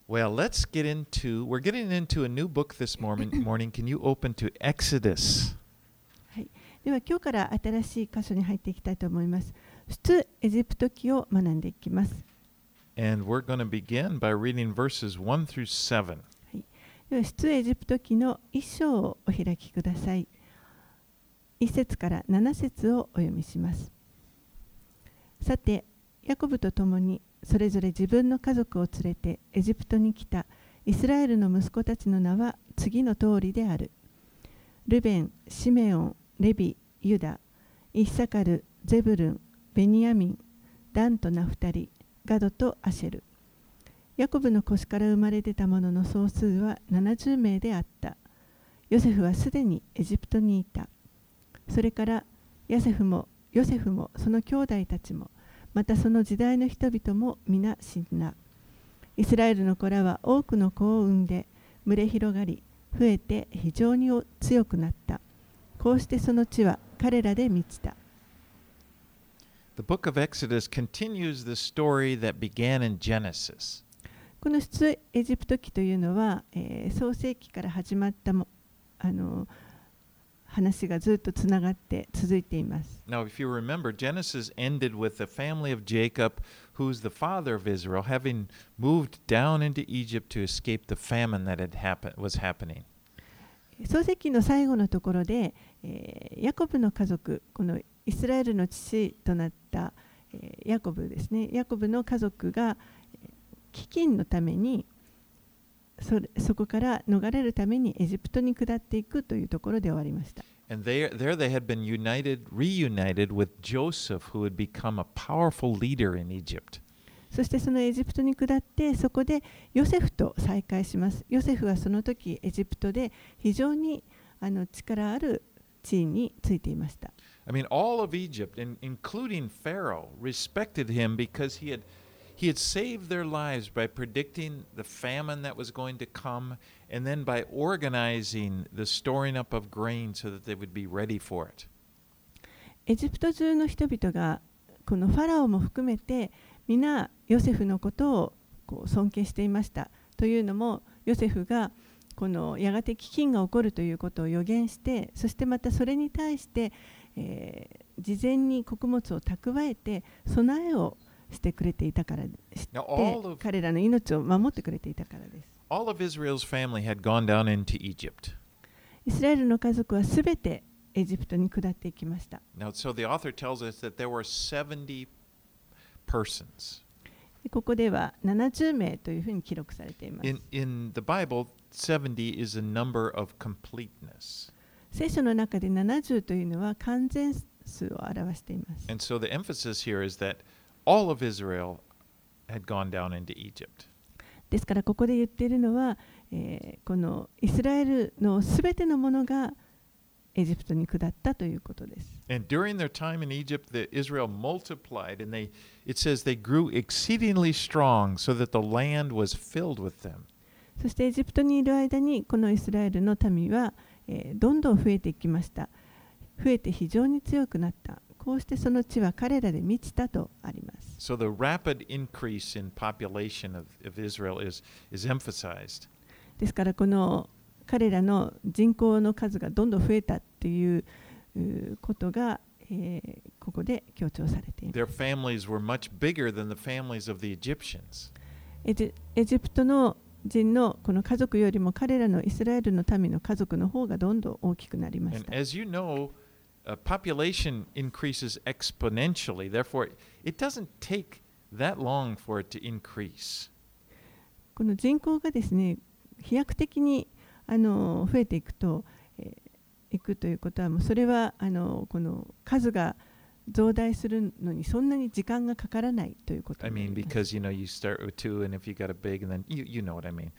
Well, we're getting into a new book this morning. Can you open to Exodus? はい、では今日から新しい箇所に入っていきたいと思います。出エジプト記を学んでいきます。 And we're going to begin by reading verses 1 through 7. はい、では出エジプト記の1章をお開きください。1節から7節をお読みします。さて、ヤコブと共にそれぞれ自分の家族を連れてエジプトに来たイスラエルの息子たちの名は次の通りである。ルベン、シメオン、レビ、ユダ、イッサカル、ゼブルン、ベニヤミン、ダンとナフタリ、ガドとアシェル。ヤコブの腰から生まれ出た者の総数は70名であった。ヨセフはすでにエジプトにいた。それからヨセフもその兄弟たちもまたその時代の人々も皆死んだ。イスラエルの子らは多くの子を産んで群れ広がり増えて非常に強くなった。こうしてその地は彼らで満ちた。 The book of Exodus continues the story that began in Genesis. この出エジプト記というのは、創世記から始まった話がずっとつながって続いています。 Now, if you remember, Genesis ended with the family of Jacob, who's the father of Israel, having moved down into Egypt to escape the famine that was happening. 創世記の最後のところで、ヤコブの家族、このイスラエルの父となった、ヤコブですね。ヤコブの家族が飢饉のためにそこから逃れるためにエジプトに下っていくというところで終わりました。 And there they had been reunited with Joseph, who had become a powerful leader in Egypt. そしてそのエジプトに下ってそこでヨセフと再会します。ヨセフはその時エジプトで非常に力ある地位についていました。 I mean, all of Egypt, including Pharaoh, respected him because he had saved their lives by predicting the famine that was going to come, and then by organizing the storing up of grain so that they would be ready for it. エジプト中の人々がこのファラオも含めて皆ヨセフのことを尊敬していました。というのもヨセフがこのやがて飢饉が起こるということを予言して、そしてまたそれに対して、事前に穀物を蓄えて備えをしてくれていたからでして、彼らの命を守ってくれていたからです。 All of Israel's family had gone down into Egypt. イスラエルの家族はすべてエジプトに下っていきました。 Now, so the author tells us that there were 70 persons. ここでは70名というふうに記録されています。 In the Bible, 70 is a number of completeness. 聖書の中で70というのは完全数を表しています。 And so the emphasis here is that all of Israel had gone down into Egypt. ですからここで言っているのは、このイスラエルのすべてのものがエジプトに下ったということです。 And during their time in Egypt, Israel multiplied, and it says they grew exceedingly strong, so that the land was filled with them. そしてエジプトにいる間にこのイスラエルの民は、どんどん増えていきました。増えて非常に強くなった。こうしてその地は彼らで満ちたとあります。 So the rapid increase in population of Israel is emphasized. ですからこの彼らの人口の数がどんどん増えたっていうことが、ここで強調されています。 Their families were much bigger than the families of the Egyptians. エジプトの人のこの家族よりも彼らのイスラエルの民の家族の方がどんどん大きくなりまし And た。 as you know, population increases exponentially. Therefore, it doesn't take that long for it to increase. この人口がですね、飛躍的に増えていくということはもうそれはこの数が増大するのにそんなに時間がかからないということになります。 Because you start with 2, and if you got a big, and then you know what I mean.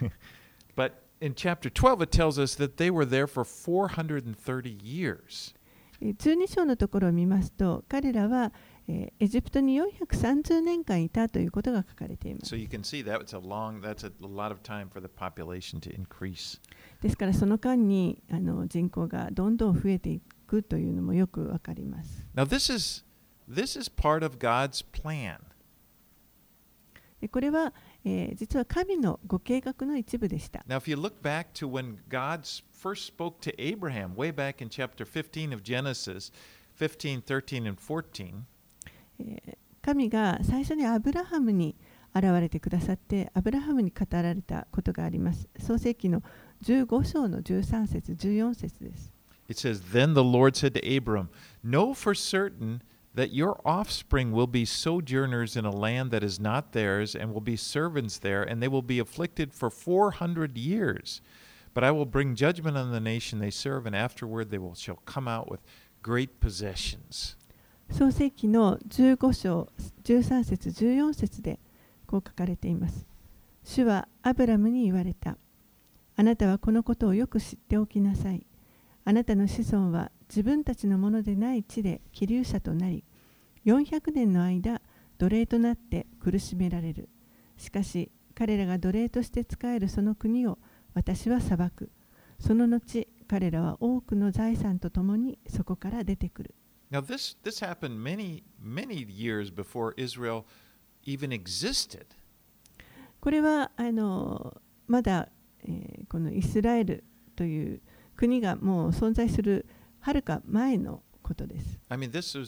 But in chapter 12, it tells us that they were there for 430 years. 12章のところを見ますと、彼らはエジプトに430年間いたということが書かれています。 So you can see that's a lot of time for the population to increase. ですからその間に人口がどんどん増えていくというのもよくわかります。 Now this is part of God's plan. これは実は神のご計画の一部でした。 Now, if you look back to when God first spoke to Abraham, way back in chapter 15 of Genesis, 15, 13, and 14, 神が最初にアブラハムに現れてくださって、アブラハムに語られたことがあります。創世記の15章の13節、14節です。 it says, Then the Lord said to Abram, Know for certain that your offspring will be sojourners in a land that is not theirs, and will be servants there, and they will be afflicted for 400 years. But I will bring judgment on the nation they serve, and afterward they shall come out with great possessions. 創世記の15章13節14節でこう書かれています。主はアブラムに言われた。あなたはこのことをよく知っておきなさい。あなたの子孫は自分たちのものでない地で寄留者となり、400年の間奴隷となって苦しめられる。しかし彼らが奴隷として仕えるその国を私は裁く。その後彼らは多くの財産とともにそこから出てくる。 Now, this happened many years before Israel even existed. これはまだ、このイスラエルという国がもう存在するはるか前のことです。 I mean,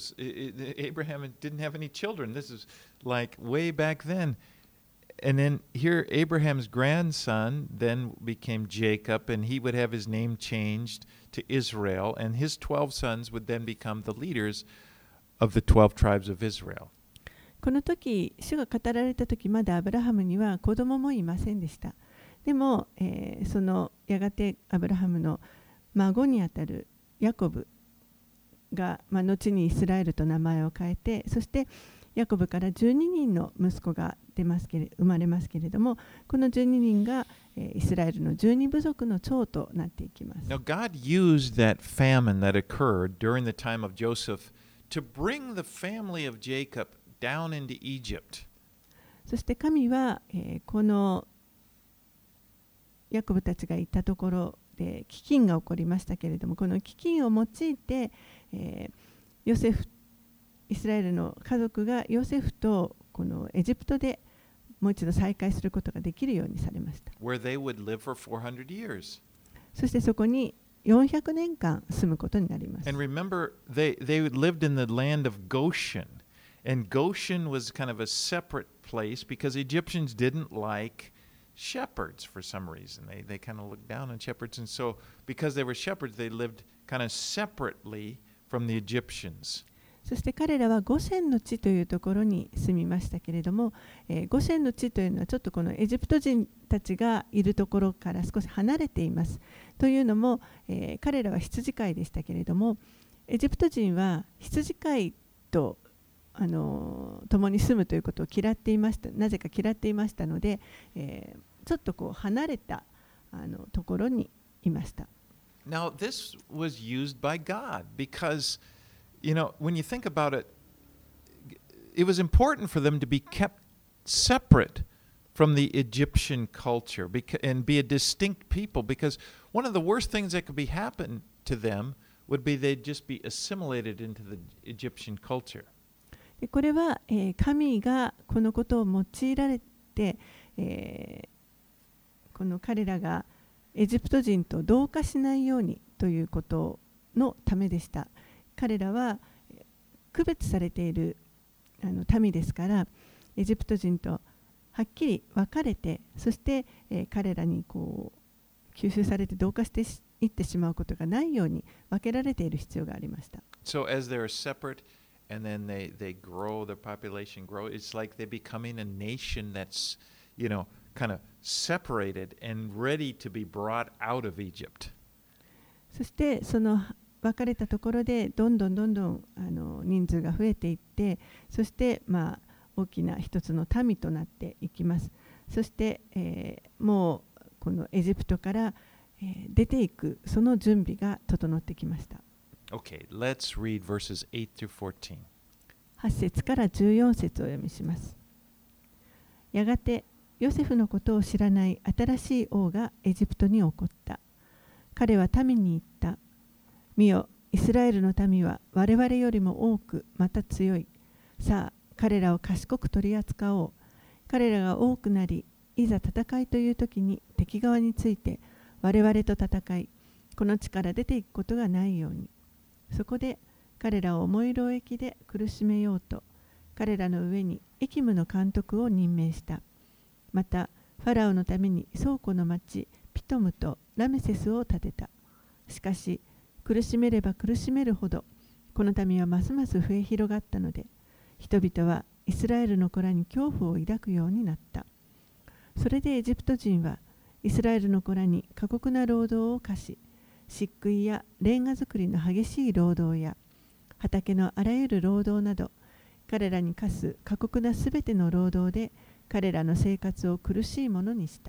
Abraham didn't have any children. This is like way back then. And then here, Abraham's grandson then became Jacob, and he would have his name changed to Israel, and his 12 sons would then become the leaders of the 12 tribes of Israel. この時、主が語られた時、まだアブラハムには子供もいませんでした。でも、そのやがてアブラハムの孫にあたるヤコブが、後にイスラエルと名前を変えて、そしてヤコブから12人の息子が生まれますけれども、この12人がイスラエルの12部族の長となっていきます。 Now, God used that famine that occurred during the time of Joseph to bring the family of Jacob down into Egypt. そして神は、このヤコブたちがいたところで飢饉が起こりましたけれども、この飢饉を用いて、イスラエルの家族がヨセフとこのエジプトでもう一度再会することができるようにされました。 Where they would live for 400 years. そしてそこに400年間住むことになります。 And remember, they lived in the land of Goshen. And Goshen was kind of a separate place because Egyptians didn't like shepherds for some reason. They kind of looked down on shepherds. And so because they were shepherds, they lived kind of separately from the Egyptians. そして彼らはゴシェンの地というところに住みましたけれども、ゴシェンの地というのはちょっとこのエジプト人たちがいるところから少し離れています。というのも、彼らは羊飼いでしたけれども、エジプト人は羊飼いと共に住むということを嫌っていました。なぜか嫌っていましたので、ちょっとこう離れたところにいました。 Now, this was used by God because, you know, when you think about it, it was important for them to be kept separate from the Egyptian culture and be a distinct people, because one of the worst things that could happen to them would be they'd just be assimilated into the Egyptian culture. これは、神がこのことを用いられて、この彼らがエジプト人と同化しないようにということのためでした。彼らは区別されている民ですから、エジプト人とはっきり分かれて、そして、彼らにこう吸収されて同化していってしまうことがないように分けられている必要がありました。 So as they're separate and then they grow, their population grow, it's like they're becoming a nation that's, you know, kind of separated and ready to be brought out of Egypt. そしてその分かれたところでどんどん人数が増えていって、そして大きな一つの民となっていきます。そして、もうこのエジプトから、出ていくその準備が整ってきました。 Okay, let's read verses 8 through 14. 8節から14節をお読みします。やがてヨセフのことを知らない新しい王がエジプトに起こった。彼は民に言った。見よ、イスラエルの民は我々よりも多くまた強い。さあ、彼らを賢く取り扱おう。 彼らが多くなり、いざ戦いという時に敵側について我々と戦い、この地から出ていくことがないように。そこで彼らを重い労役で苦しめようと、彼らの上にエキムの監督を任命した。また、ファラオのために倉庫の町ピトムとラメセスを建てた。しかし、苦しめれば苦しめるほど、この民はますます増え広がったので、人々はイスラエルの子らに恐怖を抱くようになった。それでエジプト人はイスラエルの子らに過酷な労働を課し、漆喰やレンガ作りの激しい労働や畑のあらゆる労働など、彼らに課す過酷なすべての労働で彼らの生活を苦しいものにした。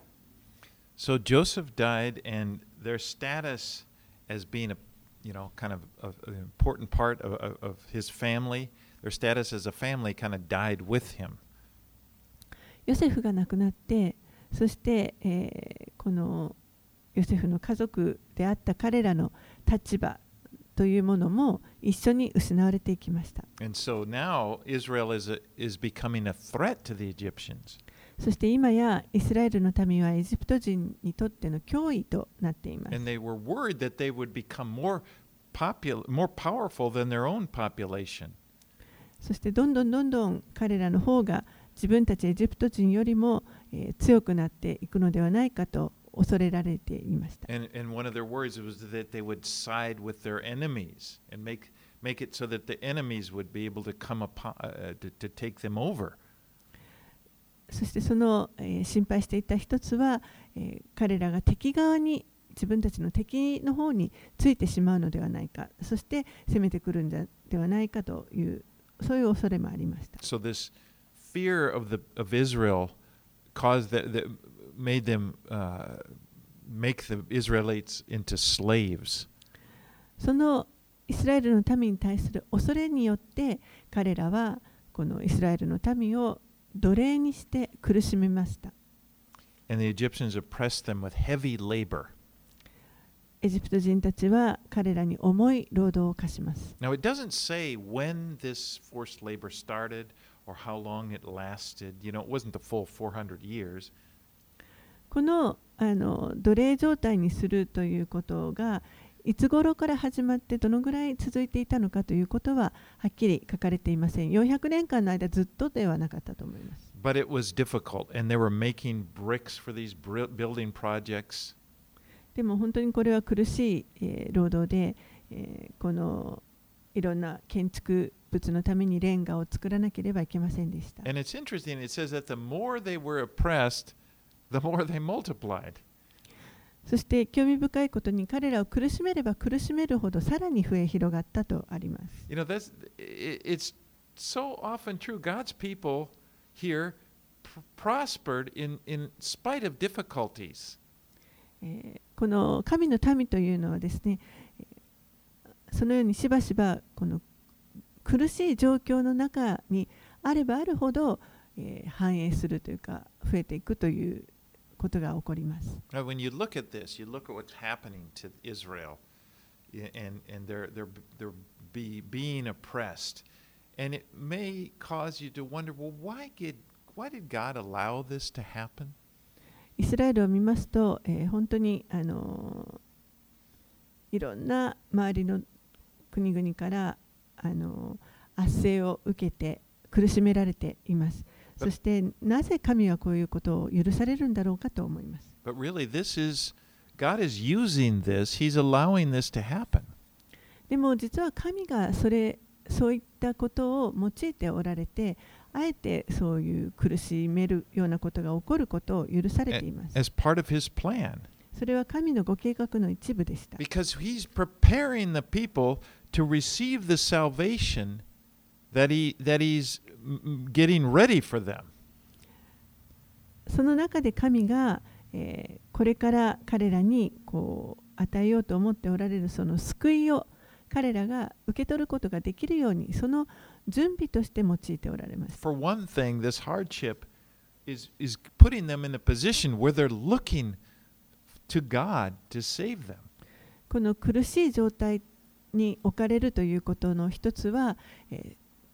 So Joseph died, and their status as being a, kind of an important part of his family, their status as a family kind of died with him. ヨセフが亡くなって、そして、このヨセフの家族であった彼らの立場というものも一緒に失われていきました。 And so now Israel is becoming a threat to the Egyptians. そして今やイスラエルの民はエジプト人にとっての脅威となっています。 And they were worried that they would become more powerful than their own population. そしてどんどん彼らの方が自分たちエジプト人よりも、強くなっていくのではないかと恐れられていました。 And one of their worries was that they would side with their enemies and make it so that the enemies would be able to come upon to take them over. そしてその、心配していた一つは、彼らが敵側に自分たちの敵の方についてしまうのではないか、そして攻めてくるんではないかというそういう恐れもありました。 So this fear of Israel caused that made them make the Israelites into slaves. そのイスラエルの民に対する恐れによって彼らはこのイスラエルの民を奴隷にして苦しめました。 And the Egyptians oppressed them with heavy labor. エジプト人たちは彼らに重い労働を課します。 Now it doesn't say when this forced labor started or how long it lasted. It wasn't the full 400 years. この奴隷状態にするということがいつ頃から始まってどのぐらい続いていたのかということははっきり書かれていません。400年間の間ずっとではなかったと思います。 But it was difficult, and they were making bricks for these building projects. でも本当にこれは苦しい、労働で、このいろんな建築物のためにレンガを作らなければいけませんでした。 And it's interesting, it says that the more they were oppressed, the more they multiplied. そして興味深いことに彼らを苦しめれば苦しめるほどさらに増え広がったとあります。 It's so often true. God's people here prospered in spite of difficulties. この神の民というのはですね、そのようにしばしばこの苦しい状況の中にあればあるほど、繁栄するというか増えていくということが起こります。 When you look at this, you look at what's happening to Israel, and they're being oppressed, and it may cause you to wonder, well, why did God allow this to happen? イスラエルを見ますと、本当にいろんな周りの国々から圧政を受けて苦しめられています。そしてなぜ神はこういうことを許されるんだろうかと思います。 But really, God is using this. He's allowing this to happen. でも実は神がそういったことを用いておられて、あえてそういう苦しめるようなことが起こることを許されています。 As part of His plan. それは神のご計画の一部でした。 Because He's preparing the people to receive the salvation that He's getting ready for them. その中で神が、これから彼らに与えようと思っておられるその救いを彼らが受け取ることができるようにその準備として用いておられます。 For one thing, this hardship is putting them in a position where they're looking to God to save them. この苦しい状態に置かれるということの一つは、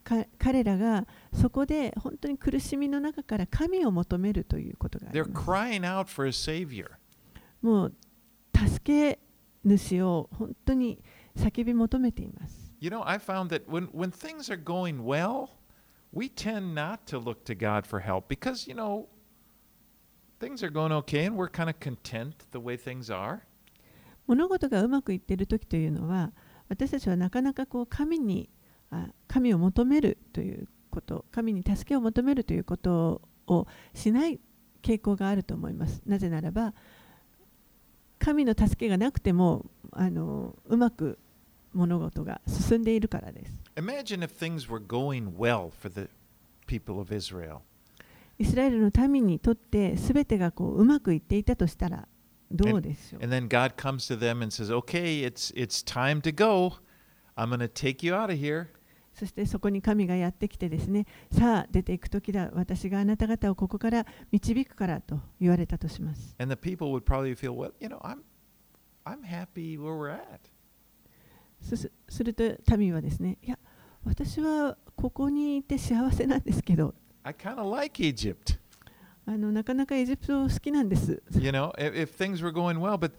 彼らがそこで本当に苦しみの中から神を求めるということがあり They're ます。 crying out for a savior. もう助け主を本当に叫び求めています。 You know, I found that when things are going well, we tend not to look to God for help because, you know, things are going okay and we're kind of content the way things are. 物事がうまくいっている時というのは、私たちはなかなか神を求めるということ、神に助けを求めるということをしない傾向があると思います。なぜならば、神の助けがなくてもうまく物事が進んでいるからです。 Imagine if things were going well for the people of Israel. イスラエルの民にとって全てがうまくいっていたとしたらどうでしょう。 And then God comes to them and says, "Okay, it's time to go. I'm going to take you out of here." そしてそこに神がやってきてですね、さあ出ていく時だ、私があなた方をここから導くからと言われたとします。 And the people would probably feel, "Well, you know, I'm happy where we're at." すると民はですね、いや、私はここにいて幸せなんですけど、 I kind of like Egypt. なかなかエジプト好きなんです。 You know, if things were going well, but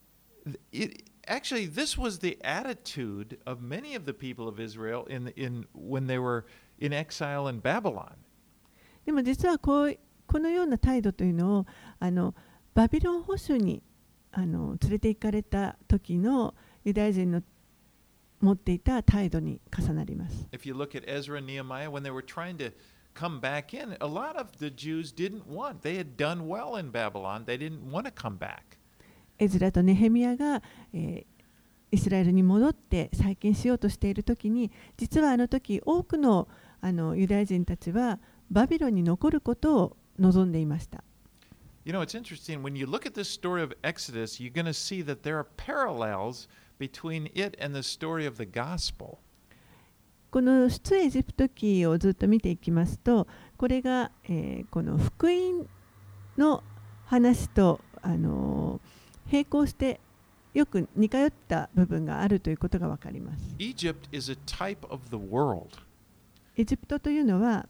actually, this was the attitude of many of the people of Israel when they were in exile in Babylon. でも実はこのような態度というのをバビロン捕囚に連れて行かれた時のユダヤ人の持っていた態度に重なります。 If you look at Ezra and Nehemiah, when they were trying to come back in, a lot of the Jews didn't want. They had done well in Babylon. They didn't want to come back. エズラとネヘミヤが、イスラエルに戻って再建しようとしている時に、実はあの時多くのユダヤ人たちはバビロンに残ることを望んでいました。 You know, it's interesting. When you look at this story of Exodus, you're going to see that there are parallels between it and the story of the gospel. この出エジプト記をずっと見ていきますと、これが、この福音の話と並行してよく似通った部分があるということがわかります。 Egypt is a type of the world. エジプトというのは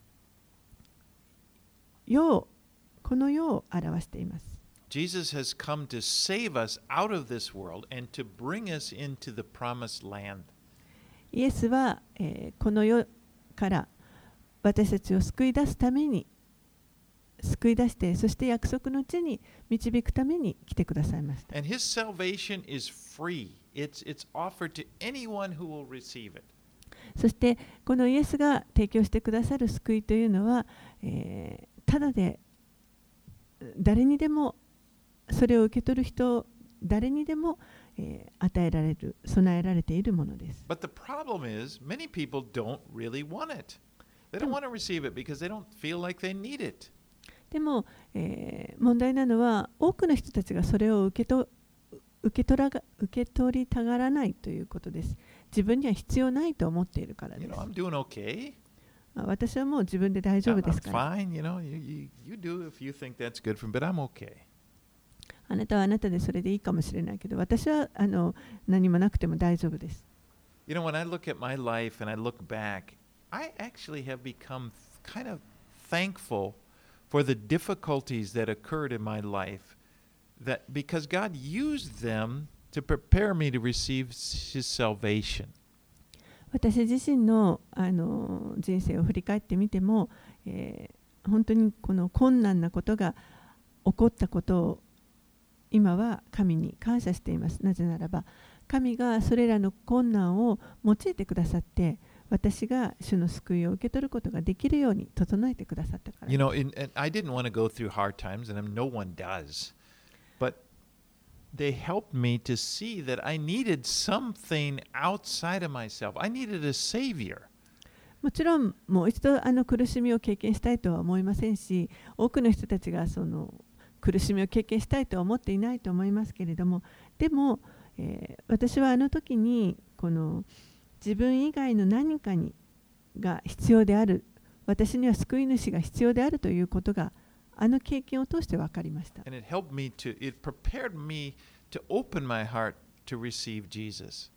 この世を表しています。 Jesus has come to save us out of this world and to bring us into the promised land. イエスは、この世から私たちを救い出すために救い出して、そして約束の地に導くために来てくださいました。 And his salvation is free. It's offered to anyone who will receive it. そしてこのイエスが提供してくださる救いというのは、ただで誰にでもそれを受け取る人誰にでも、与えられる備えられているものです。 But the problem is, many people don't really want it. They don't want to receive it because they don't feel like they need it. でも、問題なのは多くの人たちがそれを受け取りたがらないということです。自分には必要ないと思っているからで You す。 know, I'm doing okay. 私はもう自分で大丈夫です I'm から。 fine. You know, you do if you think that's good for me, but I'm okay. あなたはあなたでそれでいいかもしれないけど、私は何もなくても大丈夫です。 You know, when I look at my life and I look back, I actually have become kind of thankful for the difficulties that occurred in my life, that because God used them to prepare me to receive His salvation. 私自身の、人生を振り返ってみても、本当にこの困難なことが起こったことを今は神に感謝しています。なぜならば神がそれらの困難を用いてくださって、私が主の救いを受け取ることができるように整えてくださったから。 You know, and I didn't want to go through hard times, and no one does. But they helped me to see that I needed something outside of myself. I needed a savior. もちろんもう一度苦しみを経験したいとは思いませんし、多くの人たちがその苦しみを経験したいとは思っていないと思いますけれども、でも、私はあの時にこの自分以外の何かが必要である、私には救い主が必要であるということがあの経験を通して分かりました。 And it prepared me to open my heart to receive Jesus.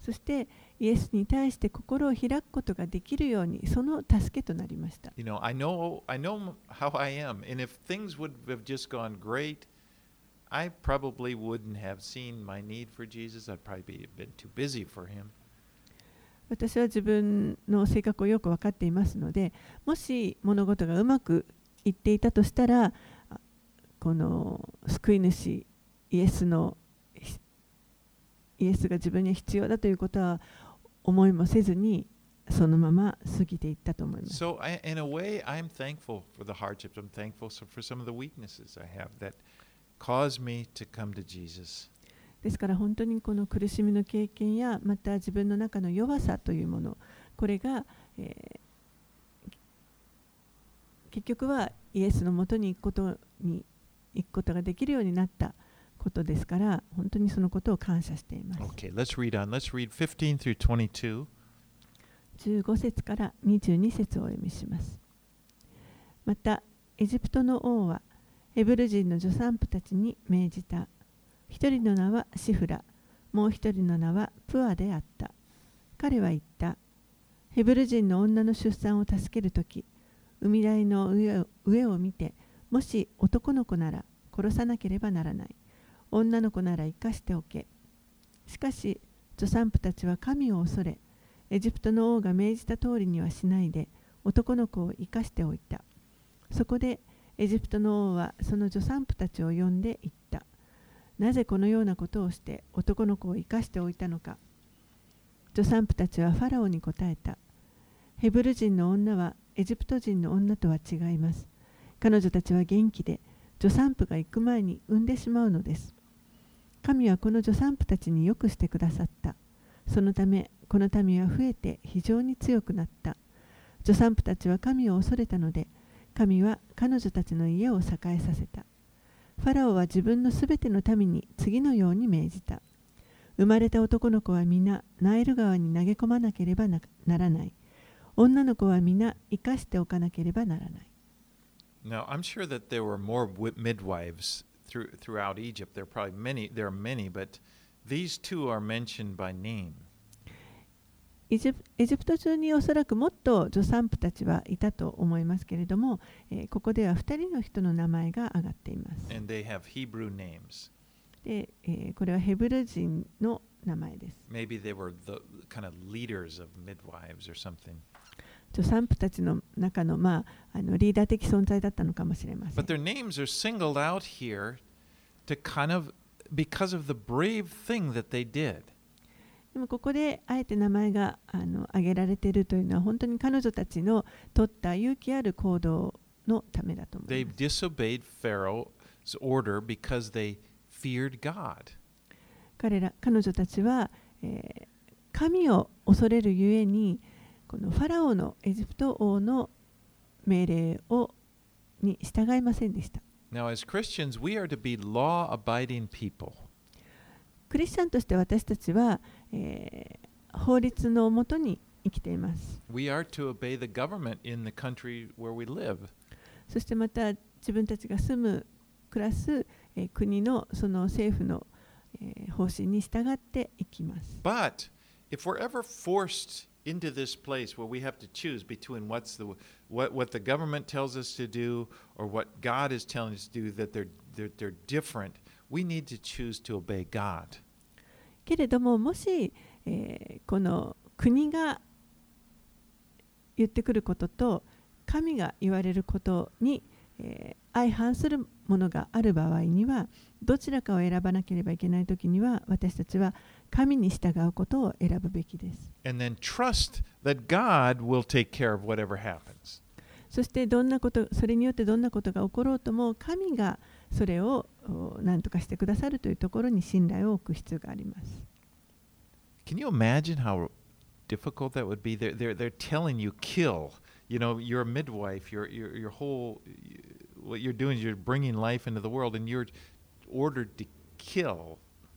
そしてイエスに対して心を開くことができるように、その助けとなりました。 You know, I know how I am, and if things would have just gone great, I probably wouldn't have seen my need for Jesus. I'd probably been too busy for him. 私は自分の性格をよく分かっていますので、もし物事がうまくいっていたとしたら、この救い主イエスが自分に必要だということは思いもせずに、そのまま過ぎていったと思います。 So, in a way, I'm thankful for the hardships. I'm thankful for some of the weaknesses I have that caused me to come to Jesus. ですから本当にこの苦しみの経験や、また自分の中の弱さというもの、これが、結局はイエスのもとに行くことができるようになったことですから、本当にそのことを感謝しています。 Okay, let's read on. Let's read 15 through 22. 15節から22節をお読みします。また、エジプトの王はヘブル人の助産婦たちに命じた。一人の名はシフラ、もう一人の名はプアであった。彼は言った。ヘブル人の女の出産を助けるとき、海台の上を見て、もし男の子なら殺さなければならない。女の子なら生かしておけ。しかし、助産婦たちは神を恐れ、エジプトの王が命じた通りにはしないで、男の子を生かしておいた。そこで、エジプトの王はその助産婦たちを呼んで言った。なぜこのようなことをして男の子を生かしておいたのか。助産婦たちはファラオに答えた。ヘブル人の女はエジプト人の女とは違います。彼女たちは元気で、助産婦が行く前に産んでしまうのです。神はこの助産婦たちによくしてくださった。そのため、この民は増えて非常に強くなった。助産婦たちは神を恐れたので、神は彼女たちの家を栄えさせた。ファラオは自分のすべての民に次のように命じた。生まれた男の子は皆ナイル川に投げ込まなければならない。女の子は皆生かしておかなければならない。 Now, I'm sure that there were more midwives throughout Egypt. There are many, but these two are mentioned by name. エジプト中におそらくもっと助産婦たちはいたと思いますけれども、ここでは2人の人の名前が挙がっています。 And they have Hebrew names. で、これはヘブル人の名前です。 Maybe they were the kind of leaders of midwives or something. 助産婦たちの中の、リーダー的存在だったのかもしれません。 But their names are singled out here to kind of because of the brave thing that they did. でもここであえて名前が挙げられているというのは本当に彼女たちの取った勇気ある行動のためだと思います。 They disobeyed Pharaoh's order because they feared God. 彼女たちは、神を恐れるゆえにこのファラオのエジプト王の命令に従いませんでした。 Now, as Christians, we are to be law-abiding people. クリスチャンとして私たちは、法律のもとに生きています。 We are to obey the government in the country where we live. そしてまた自分たちが暮らす、国のその政府の、方針に従っていきます。 But if we're ever forced into this place where we have to choose between what the government tells us to do or what God is telling us to do, that they're different, we need to choose to obey God. けれども、もし、この国が言ってくることと神が言われることに、相反するものがある場合には、どちらかを選ばなければいけないときには、私たちは神に従うことを選ぶべきです。 And then trust that God will take care of whatever happens. そしてそれによってどんなことが起ころうとも、神がそれを何とかしてくださるというところに信頼を置く必要があります。 Can you imagine how difficult that would be? They're telling you kill. You know, you're a midwife. Your whole what you're doing is you're bringing life into the world, and you're ordered to kill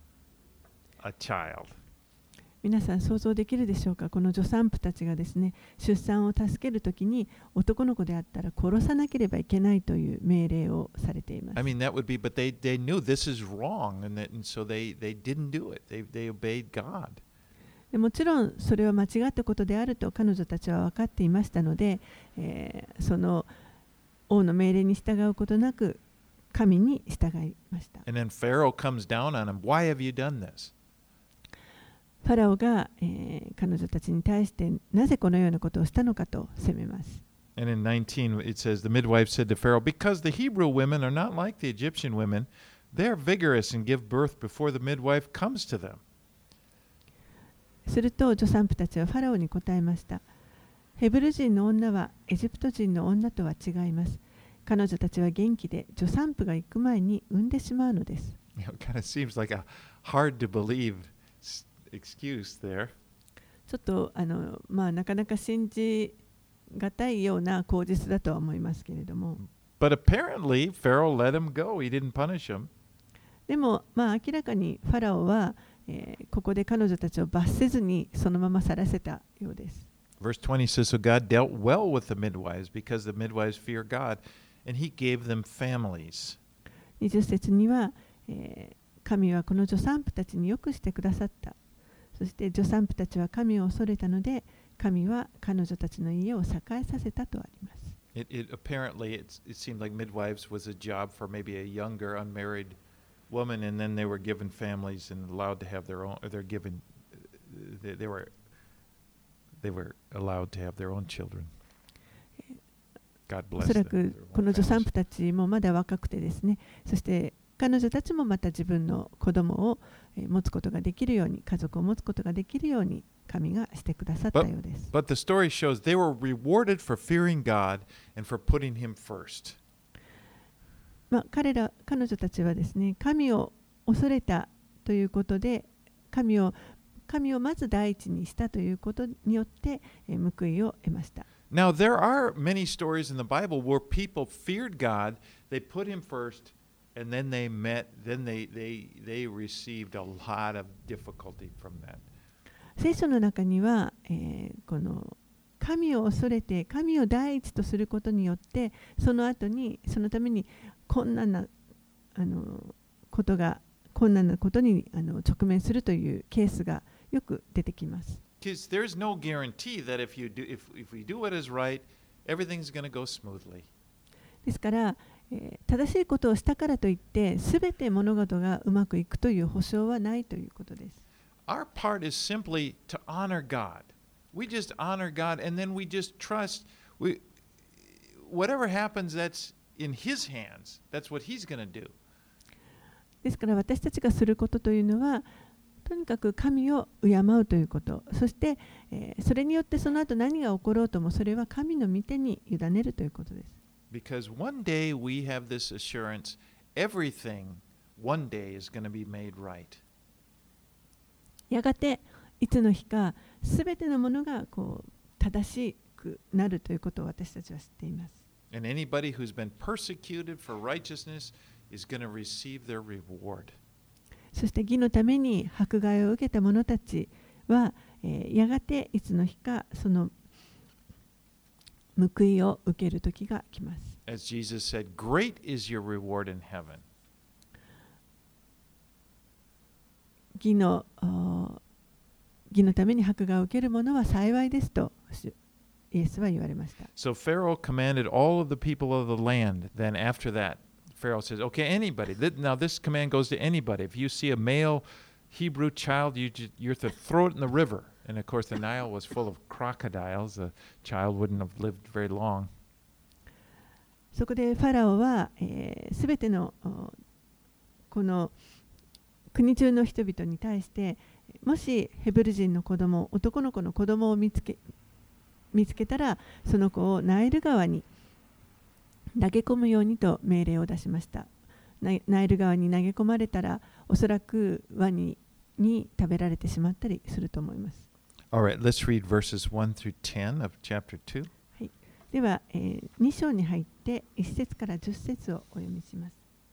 a child. 皆さん想像できるでしょうか。この助産婦たちがですね、出産を助けるときに男の子であったら殺さなければいけないという命令をされています。 I mean, that would be, but they knew this is wrong, and so they didn't do it. They obeyed God. もちろんそれは間違ったことであると彼女たちは分かっていましたので、その王の命令に従うことなく神に従いました。 And then Pharaoh comes down on him. Why have you done this? ファラオが、彼女たちに対してなぜこのようなことをしたのかと責めます。 And in 19 it says, the midwife said to Pharaoh, because the Hebrew women are not like the Egyptian women, they are vigorous and give birth before the midwife comes to them. すると助産婦たちはファラオに答えました。ヘブル人の女はエジプト人の女とは違います。彼女たちは元気で助産婦が行く前に産んでしまうのです。 It kind of seems like a hard to believe excuse there. ちょっとなかなか信じがたいような口実だとは思いますけれども。 But apparently Pharaoh let him go. He didn't punish him. でも明らかにファラオは、ここで彼女たちを罰せずにそのまま去らせたようです。 Verse 20 says, so God dealt well with the midwives because the midwives fear God, and he gave them families. 20節には、神はこの助産婦たちによくしてくださった。そして助産婦たちは神を恐れたので、神は彼女たちの家を栄えさせたとあります。 Apparently it seemed like midwives was a job for maybe a younger unmarried woman, and then they were given families and allowed to have their own. They were allowed to have their own children. God お bless そら them. くこの助産婦たちもまだ若くてですね、そして彼女たちもまた自分の子供を持つことができるように、家族を持つことができるように神がしてくださったようです。 But the story shows they were rewarded for fearing God and for putting him first. 彼女たちはですね、神を恐れたということで、神をまず第一にしたということによって報いを得ました。 Now, there are many stories in the Bible where people feared God, they put him first, and then they received a lot of difficulty from that. 聖書の中には、この神を恐れて神を第一とすることによって、その後にそのために困難なことに直面するというケースがよく出てきます。 Because there's no guarantee that if we do what is right, everything's going to go smoothly. ですから、正しいことをしたからといってすべて物事がうまくいくという保証はないということです。 Our part is simply to honor God. We just honor God and then we just trust whatever happens that's in his hands. That's what he's going to do. ですから私たちがすることというのはとにかく神を敬うということ、そして、それによってその後何が起ころうともそれは神の御手に委ねるということです。 Because one day we have this assurance, everything one day is going to be made right. やがていつの日かすべてのものが正しくなるということを私たちは知っています。 And anybody who's been persecuted for righteousness is going to receive their reward. そして義のために迫害を受けた者たちは、やがていつの日かその報いを受ける時が来ます。 As Jesus said, great is your reward in heaven. 義のために迫害を受ける者は幸いですとイエスは言われました。 So Pharaoh commanded all of the people of the land. Then after that, Pharaoh says, okay, anybody. Now this command goes to anybody. If you see a male Hebrew child, you're to throw it in the river. And of course, the Nile was full of crocodiles. The child wouldn't have lived very long. そこでファラオはすべてのこの国中の人々に対して、もしヘブル人の子供、男の子の子供を見つけたら、その子をナイル川に投げ込むようにと命令を出しました。ナイル川に投げ込まれたら、おそらくワニに食べられてしまったりすると思います。 Alright, let's read verses 1 through 10 of chapter 2. はい、では、2章に入って1節から10節をお読みします。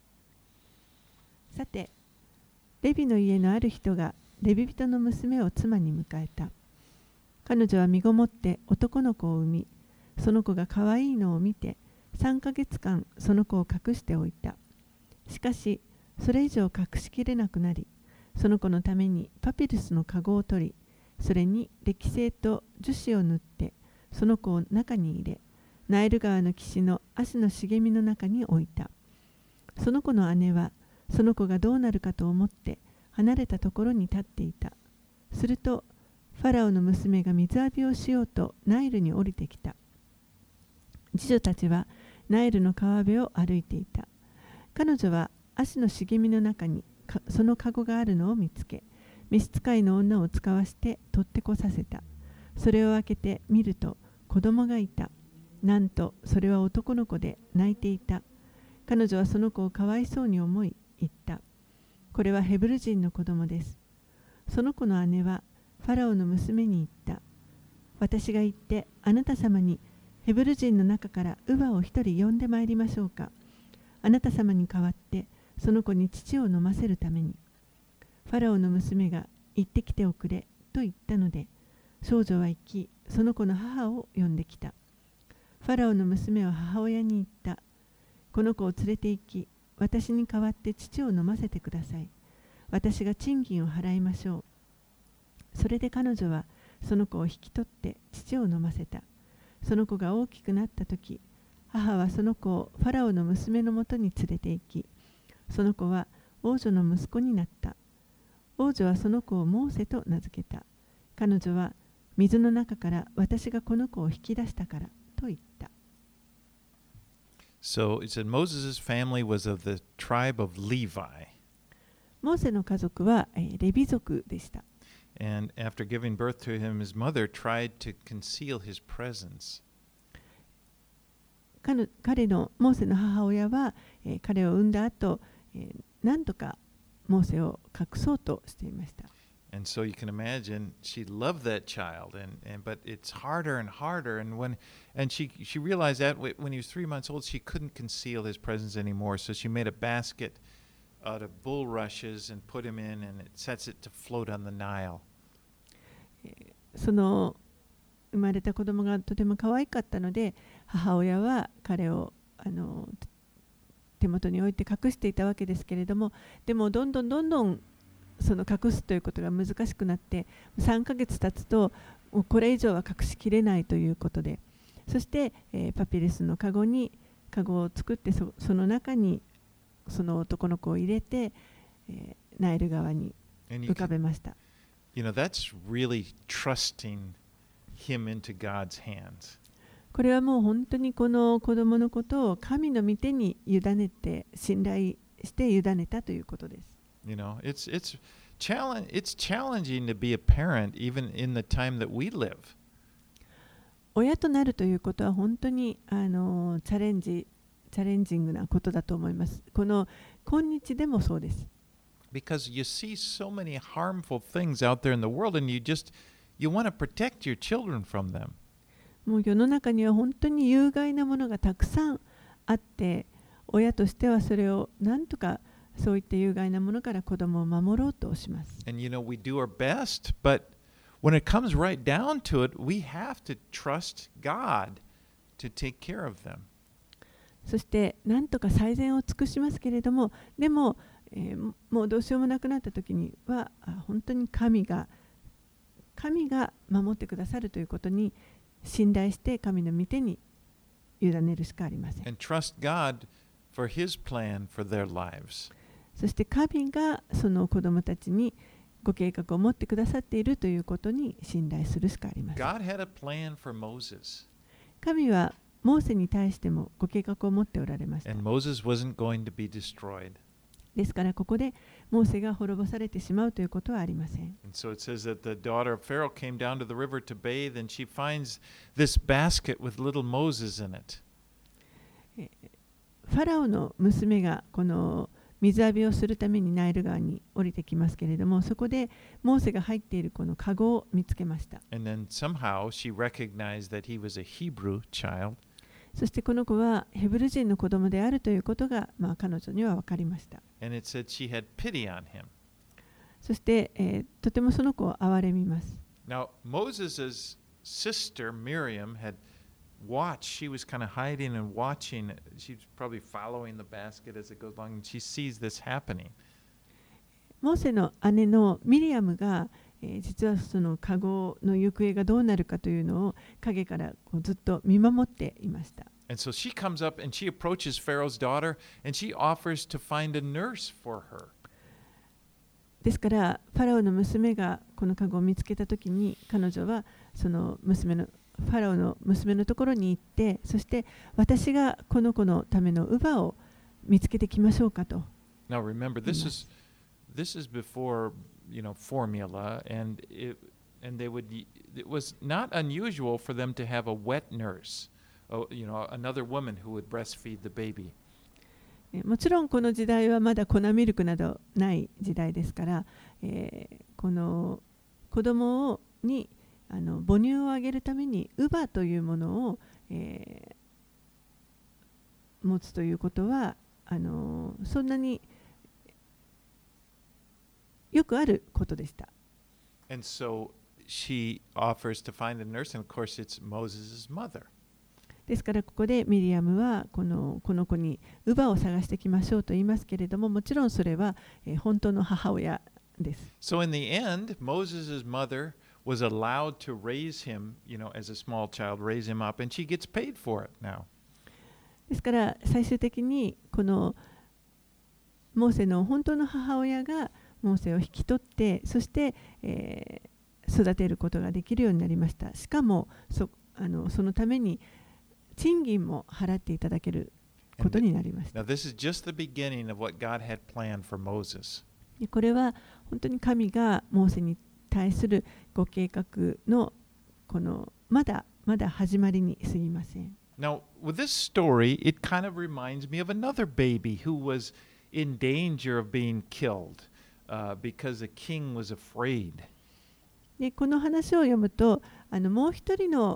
さて、レビの家のある人がレビ人の娘を妻に迎えた。彼女は身ごもって男の子を産み、その子が可愛いのを見て、3ヶ月間その子を隠しておいた。しかし、それ以上隠しきれなくなり、その子のためにパピルスの籠を取り、 それに歴製と樹脂を塗ってその子を中に入れ、ナイル川の岸の足の茂みの中に置いた。その子の姉はその子がどうなるかと思って離れたところに立っていた。するとファラオの娘が水浴びをしようとナイルに降りてきた。次女たちはナイルの川辺を歩いていた。彼女は足の茂みの中にその籠があるのを見つけ、召使いの女を使わして取ってこさせた。それを開けて見ると子供がいた。なんとそれは男の子で泣いていた。彼女はその子をかわいそうに思い言った。これはヘブル人の子供です。その子の姉はファラオの娘に言った。私が行ってあなた様にヘブル人の中から乳母を一人呼んでまいりましょうか。あなた様に代わってその子に乳を飲ませるために。ファラオの娘が行ってきておくれと言ったので、少女は行き、その子の母を呼んできた。ファラオの娘は母親に言った。この子を連れて行き、私に代わって乳を飲ませてください。私が賃金を払いましょう。それで彼女はその子を引き取って乳を飲ませた。その子が大きくなったとき、母はその子をファラオの娘のもとに連れて行き、その子は王女の息子になった。王女はその子をモーセと名付けた。彼女は水の中から私がこの子を引き出したからと言った。 So it said Moses' family was of the tribe of Levi. モーセの家族はレビ族でした。 And after giving birth to him, his mother tried to conceal his presence. 彼のモーセの母親は、彼を産んだ後、何とかモーセを隠そうとしていました。 And so you can imagine she loved that child, but it's harder and harder. And she realized that when he was 3 months old, she couldn't conceal his presence anymore. So she made a basket out of bulrushes and put him in, and it sets it to float on the Nile. その生まれた子供がとても可愛かったので、母親は彼を手元に置いて隠していたわけですけれども、でもどんどんその隠すということが難しくなって、3ヶ月経つとこれ以上は隠しきれないということで、そして、パピルスのカゴを作って、その中にその男の子を入れて、ナイル川に浮かべました。 That's really trusting him into God's hands. これはもう本当にこの子供のことを神の御手に委ねて、信頼して委ねたということです。 It's challenging to be a parent even in the time that we live. 親となるということは本当にチャレンジングなことだと思います。今日でもそうです。 Because you see so many harmful things out there in the world, and you want to protect your children from them. もう世の中には本当に有害なものがたくさんあって、親としてはそれをなんとかそういった有害なものから子供を守ろうとします。 And we do our best, but when it comes right down to it, we have to trust God to take care of them. そしてなんとか最善を尽くしますけれども、でも、もうどうしようもなくなった時には本当に神が守ってくださるということに信頼して神の御手に委ねるしかありません。 And trust God for His plan for their lives. そして神がその子供たちにご計画を持ってくださっているということに信頼するしかありません。 God had a plan for Moses. 神はモーセに対してもご計画を持っておられました。 And Moses wasn't going to be destroyed. ですからここでモーセが滅ぼされてしまうということはありません。 And so it says that the daughter of Pharaoh came down to the river to bathe, and she finds this basket with little Moses in it. ファラオの娘がこの水浴びをするためにナイル川に降りてきますけれども、そこでモーセが入っているこのカゴを見つけました。 And then somehow she recognized that he was a Hebrew child. そしてこの子はヘブル人の子供であるということが、彼女には分かりました。 And it said she had pity on him. そして、とてもその子を憐れみます。 Now, Moses' sister Miriam had watched. She was kind of hiding and watching. She's probably following the basket as it goes along, and she sees this happening. モーセの姉のミリアムが、 実はその籠の行方がどうなるかというのを陰からこうずっと見守っていました。 And so she comes up and she approaches Pharaoh's daughter and she offers to find a nurse for her. ですからファラオの娘がこの籠を見つけたときに彼女はそのファラオの娘のところに行って、そして私がこの子のための乳母を見つけてきましょうかと。 Now remember, this is before formula, and it was not unusual for them to have a wet nurse, another woman who would breastfeed the baby. もちろんこの時代はまだ粉ミルクなどない時代ですから、この子供に母乳をあげるために乳母というものを、持つということはそんなによくあることでした。 And so she offers to find a nurse, and of course it's Moses' mother. ですからここでミリアムはこの子に乳母を探してきましょうと言いますけれども、もちろんそれは、本当の母親です。 So in the end, Moses' mother was allowed to raise him, as a small child, raise him up, and she gets paid for it now. ですから最終的にこのモーセの本当の母親がモーセを引き取って、そして、育てることができるようになりました。しかもそのために賃金も払っていただけることになりました。 Now this is just the beginning of what God had planned for Moses. これは本当に神がモーセに対するご計画のこのまだ始まりに過ぎません。 Now with this story, it kind of reminds me of another baby who was in danger of being killed, because the king was afraid. でこの話を読むともう一人の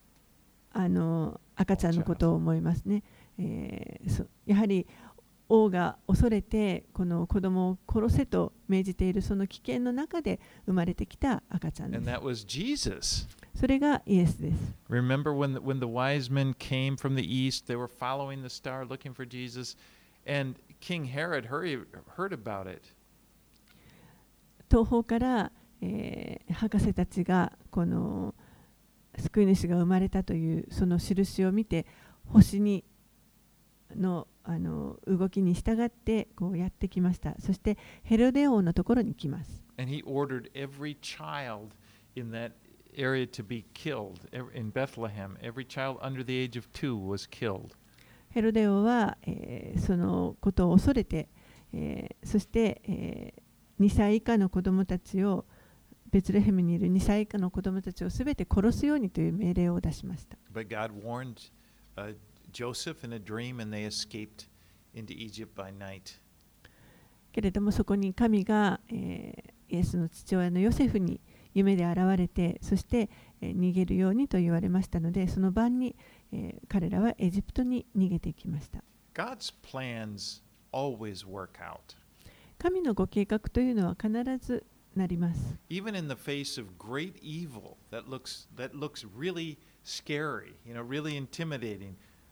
赤ちゃんのことを思いますね。やはり王が恐れてこの子供を殺せと命じているその危険の中で生まれてきた赤ちゃんで And that was Jesus. す。それがイエスです。 Remember when the wise men came from the east, they were following the star looking for Jesus, and King Herod heard about it. 東方から、博士たちがこの救い主が生まれたというその印を見て、星の動きに従ってこうやってきました。そしてヘロデ王のところに来ます。 And he ordered every child in that area to be killed. In Bethlehem, every child under the age of 2 was killed. ヘロデ王は、そのことを恐れて、そして、2歳以下の子供たちをベツレヘムにいる2歳以下の子供たちをすべて殺すようにという命令を出しました。 But God warned Joseph in a dream, and they escaped into Egypt by night. けれどもそこに神が、イエスの父親のヨセフに夢で現れて、そして、逃げるようにと言われましたので、その晩に、彼らはエジプトに逃げていきました。 God's plans always work out. 神のご計画というのは必ずなります。 Even in the face of great evil that looks really scary, really intimidating,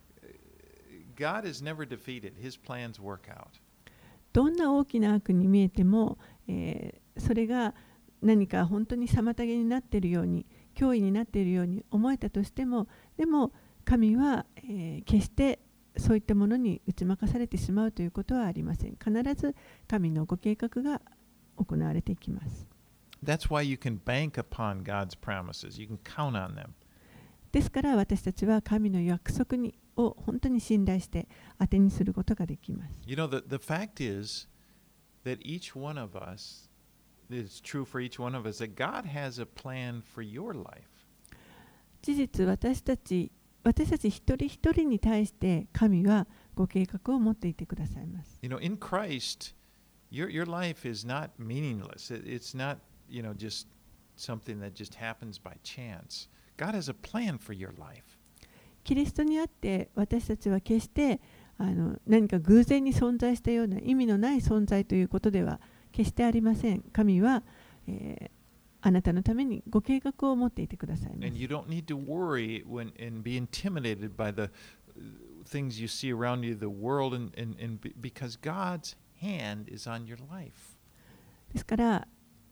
God is never defeated. His plans work out. どんな大きな悪に見えても、それが何か本当に妨げになっているように、脅威になっているように思えたとしても、でも神は、決してそういったものに打ち負かされてしまうということはありません。必ず神のご計画が行われていきます。 That's why you can bank upon God's promises. You can count on them. ですから私たちは神の約束を本当に信頼して当てにすることができます。 The fact is that each one of us, it's true for each one of us, that God has a plan for your life. 事実私たち一人一人に対して神はご計画を持っていてくださいます。 In Christ, your life is not meaningless. It's not, just something that just happens by chance. God has a plan for your life. キリストにあって私たちは決して何か偶然に存在したような意味のない存在ということでは決してありません。神は、あなたのためにご計画を持っていてくださいます。 And you don't need to worry and be intimidated by the things you see around you, the world, because God's hand is on your life. ですから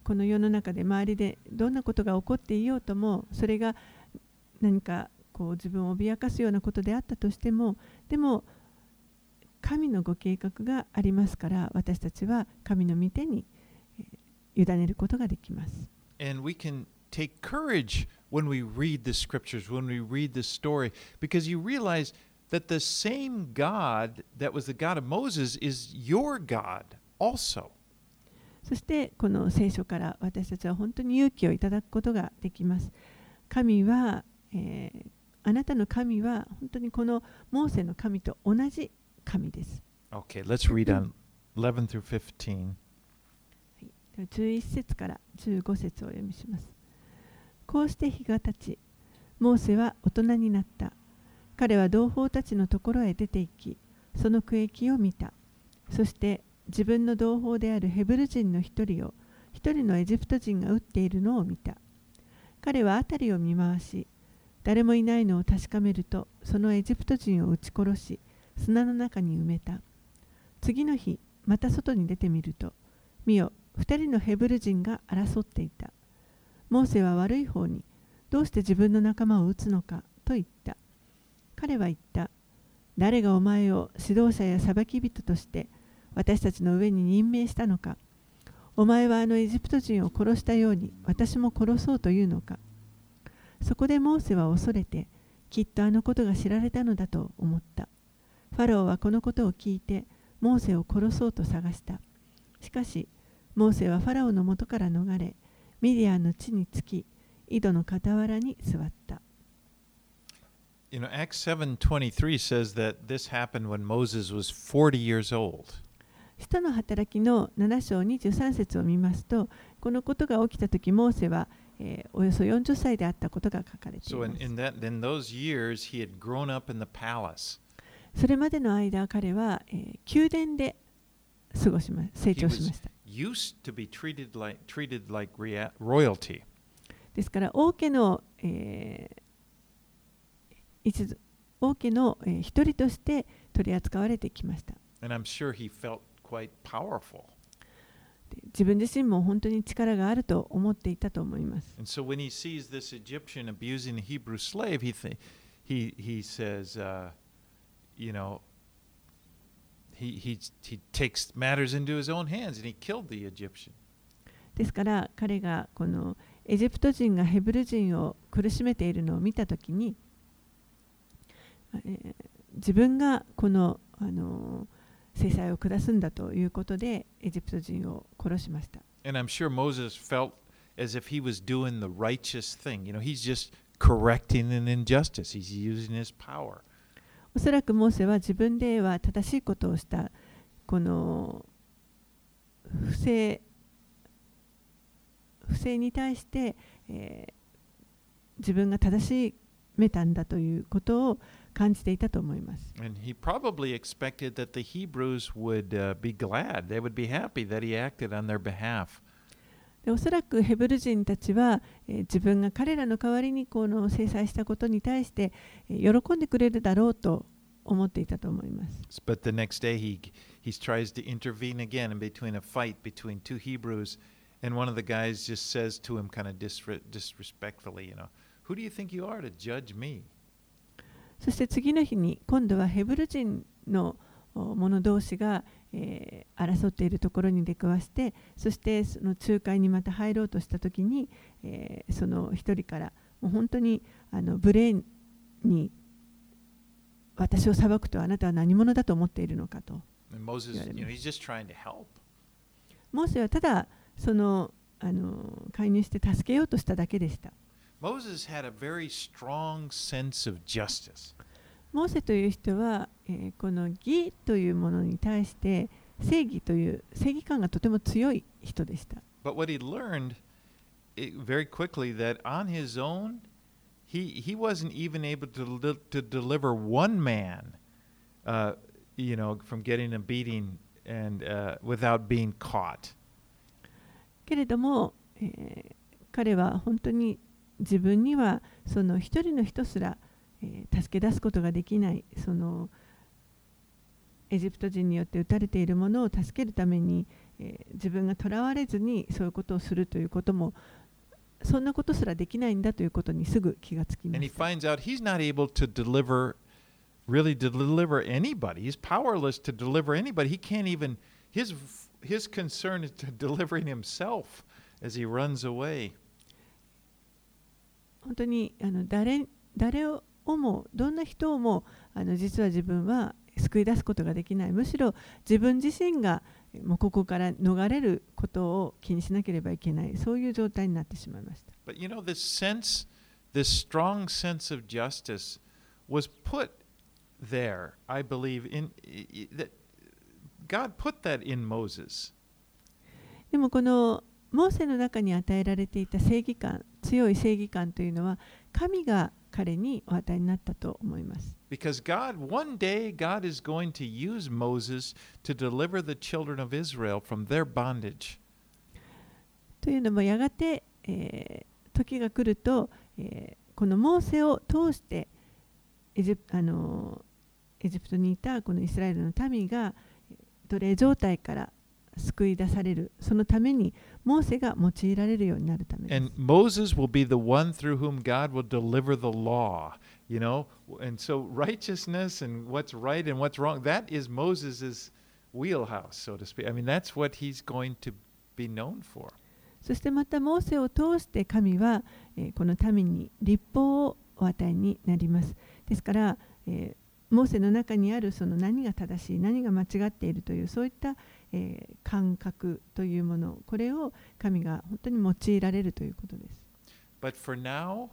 この世の中で周りでどんなことが起こっていようとも、それが何かこう自分を脅かすようなことであったとしても、でも神のご計画がありますから、私たちは神の御手に委ねることができます。 And we can take courage when we read the scriptures, when we read the story, because you realize that the same God that was the God of Moses is your God also. そしてこの聖書から私たちは本当に勇気をいただくことができます。神は、あなたの神は本当にこのモーセの神と同じ神です。 Okay, let's read on 11 through 15. 11節から15節をお読みします。こうして日が経ち、モーセは大人になった。彼は同胞たちのところへ出て行き、その区域を見た。そして自分の同胞であるヘブル人の一人を一人のエジプト人が撃っているのを見た。彼は辺りを見回し、誰もいないのを確かめると、そのエジプト人を撃ち殺し、砂の中に埋めた。次の日、また外に出てみると、見よ、二人のヘブル人が争っていた。モーセは悪い方に、どうして自分の仲間を撃つのかと言った。彼は言った。誰がお前を指導者や裁き人として私たちの上に任命したのか。お前はあのエジプト人を殺したように私も殺そうというのか。そこでモーセは恐れて、きっとあのことが知られたのだと思った。ファローはこのことを聞いて、モーセを殺そうと探した。しかし、モーセはファラオの元から逃れ、ミディアンの地に着き、井戸の傍らに座った。 You know, Acts 7:23 says that this happened when Moses was 40 years old. 使徒の働きの7章23節を見ますと、このことが起きたとき、モーセは、およそ40歳であったことが書かれてい So ます。 in those years, he had grown up in the palace. それまでの間、彼は、宮殿で成長しました。 Used to be treated like royalty. ですから、王家の、一人として取り扱われてきました。 And I'm sure he felt quite powerful. 自分自身も本当に力があると思っていたと思います。 And so when he sees this Egyptian abusing a Hebrew slave, he says, you know, he takes matters into his own hands and he killed the Egyptian. ですから彼がこのエジプト人がヘブル人を苦しめているのを見たときに、自分がこの、制裁を下すんだということでエジプト人を殺しました。 And I'm sure Moses felt as if he was doing the righteous thing. You know, he's just correcting an injustice. He's using his power. おそらくモーセは自分では正しいことをした、この不正に対して、自分が正しめたんだということを感じていたと思います。 And he probably expected that the Hebrews would be glad. They would be happy that he acted on their behalf. でおそらくヘブル人たちは、自分が彼らの代わりにこの制裁したことに対して、喜んでくれるだろうと思っていたと思います。 But the next day he tries to intervene again in between a fight between two Hebrews, and one of the guys just says to him kind of disrespectfully, you know, who do you think you are to judge me? そして次の日に今度はヘブル人の者同士が、争っているところに出くわして、そしてその仲介にまた入ろうとしたときに、その一人からもう本当に無礼に私を裁くとあなたは何者だと思っているのかと言われます。 He's just trying to help. モーセはただその介入して助けようとしただけでした。 Moses had a very strong sense of justice. モーセという人は、この義というものに対して正義という正義感がとても強い人でした。 But what he learned very quickly that on his own, he wasn't even able to deliver one man, from getting a beating and without being caught. けれども、彼は本当に自分にはその一人の人すら、助け出すことができない、そのエジプト人によって撃たれているものを助けるために、 自分がとらわれずにそういうことをするということも、そんなことすらできないんだということにすぐ気がつきま And he した。 finds out he's not able to really deliver anybody. He's powerless to deliver anybody. He can't even, his concern is to delivering himself as he runs away. 本当に誰をもどんな人をも実は自分は救い出すことができない。むしろ自分自身がもうここから逃れることを気にしなければいけない、そういう状態になってしまいました。 But you know, this strong sense of justice was put there, I believe, that God put that in Moses. でもこのモーセの中に与えられていた正義感、強い正義感というのは神が彼にお与えになったと思います。 Because one day, God is going to use Moses to deliver the children of Israel from their bondage. というのもやがて、時が来ると、このモーセを通してエジプトにいたこのイスラエルの民が奴隷状態から救い出される、そのためにモーセが用いられるようになるためです。 And Moses will be the one through whom God will deliver the law, you know? And so righteousness and what's right and what's wrong, that is Moses's wheelhouse, so to speak. I mean, that's what he's going to be known for. そしてまたモーセを通して神は、この民に律法をお与えになります。ですから、モーセの中にあるその何が正しい、何が間違っているというそういった、感覚というもの、これを神が本当に用いられるということです。 But for now,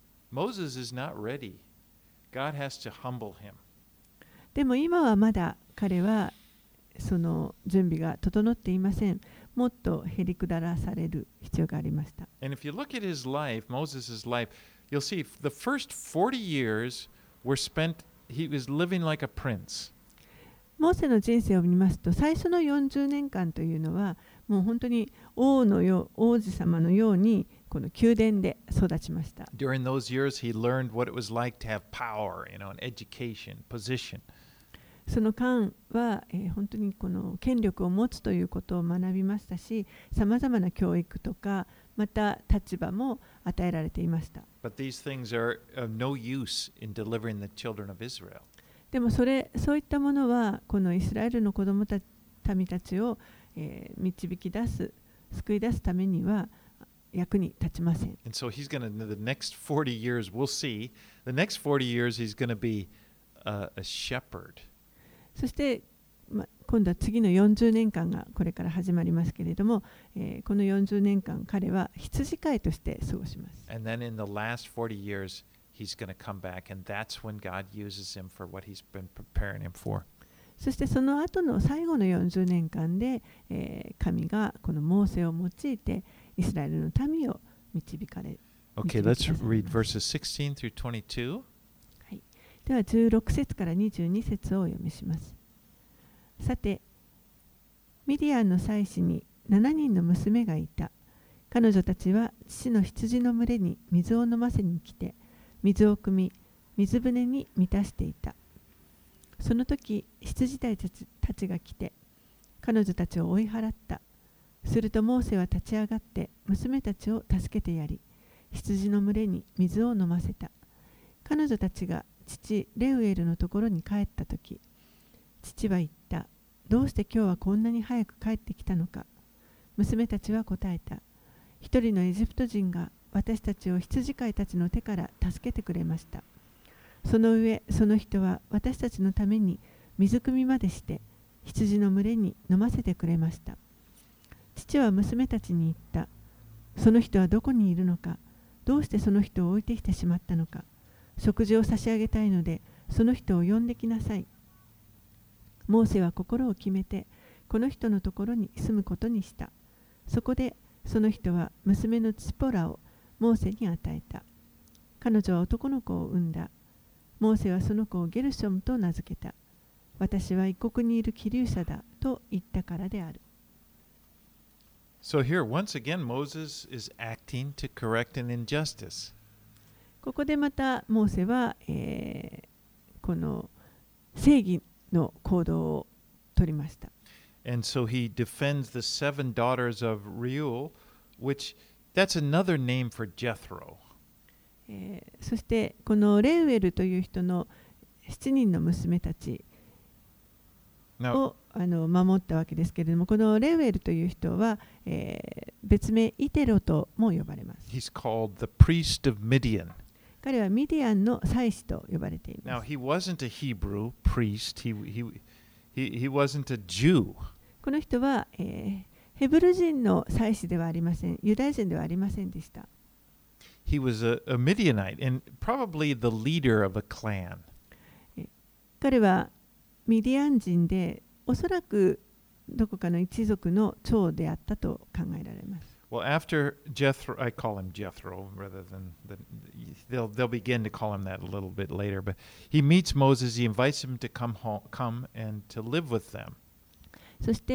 Moses is not ready. God has to humble him. でも今はまだ彼はその準備が整っていません。もっとへりくだらされる必要がありました。 And if you look at his life, Moses' life, you'll see the first 40 years were spent, he was living like a prince. モーセの人生を見ますと、最初の40年間というのはもう本当に王子様のようにこの宮殿で育ちました。 During those years, he learned what it was like to have power, you know, and education, position. その間は、本当にこの権力を持つということを学びましたし、さまざまな教育とかまた立場も与えられていました。 But these things are of no use in delivering the children of Israel. でもそういったものはこのイスラエルの子供た民たちを、導き出す、救い出すためには役に立ちません。 And so he's going to, the next 40 years, we'll see, the next 40 years, he's going to be a shepherd. そして、今度は次の40年間がこれから始まりますけれども、この40年間彼は羊飼いとして過ごします。 And then in the last 40 years, he's going to come back, and that's when God uses him for what he's been preparing him for. そしてその後の最後の40年間で、神がこのモーセを用いてイスラエルの民を導かれる。 Okay, let's read verses 16 through 22. はい、では16節から22節をお読みします。さて、ミディアンの妻子に7人の娘がいた。彼女たちは父の羊の群れに水を飲ませに来て、水を汲み、水舟に満たしていた。その時、羊たちが来て、彼女たちを追い払った。するとモーセは立ち上がって娘たちを助けてやり、羊の群れに水を飲ませた。彼女たちが父レウエルのところに帰った時、父は言った。どうして今日はこんなに早く帰ってきたのか。娘たちは答えた。一人のエジプト人が私たちを羊飼いたちの手から助けてくれました。その上、その人は私たちのために水汲みまでして羊の群れに飲ませてくれました。父は娘たちに言った。その人はどこにいるのか。どうしてその人を置いてきてしまったのか。食事を差し上げたいので、その人を呼んできなさい。モーセは心を決めて、この人のところに住むことにした。そこで、その人は娘のツポラをモーセに与えた。彼女は男の子を産んだ。モーセはその子をゲルショムと名付けた。私は異国にいる希留者だと言ったからである。 So here, once again, Moses is acting to correct an injustice. ここでまたモーセは、この正義の行動を取りました。 And so he defends the 7 daughters of Reuel, which that's another name for Jethro. そしてこのレウエルという人の7人の娘たち Now, を守ったわけですけれども、このレウエルという人は、別名イテロとも呼ばれます。 he's called the priest of Midian. 彼はミディアンの祭司と呼ばれてい Now, ます。 he wasn't a Hebrew priest. He wasn't a Jew. この人は、ヘブル人の祭司ではありません。ユダヤ人ではありませんでした。 He was a Midianite and probably the leader of a clan. 彼はミディアン人で、おそらくどこかの一族の長であったと考えられます。 Well, after Jethro, I call him Jethro rather than they'll begin to call him that a little bit later. But he meets Moses. He invites him to come and to live with them. そして、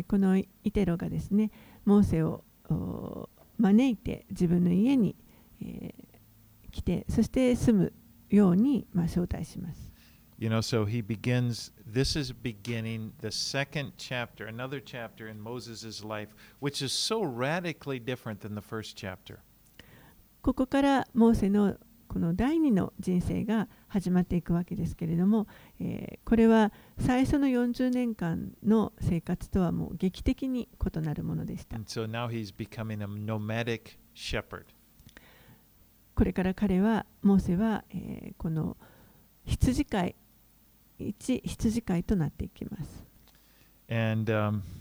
このイテロがですね、モーセを招いて自分の家に、来て、そして住むように、招待します。 You know, so he begins, this is beginning the second chapter, another chapter in Moses' life, which is so radically different than the first chapter. ここからモーセのこの第二の人生が始まっていくわけですけれども、これは最初の40年間の生活とはもう劇的に異なるものでした。 And so now he's becoming a nomadic shepherd. これから彼は、モーセは、この羊飼い、一羊飼いとなっていきます。 And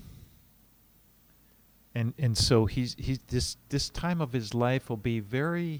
so he's this time of his life will be very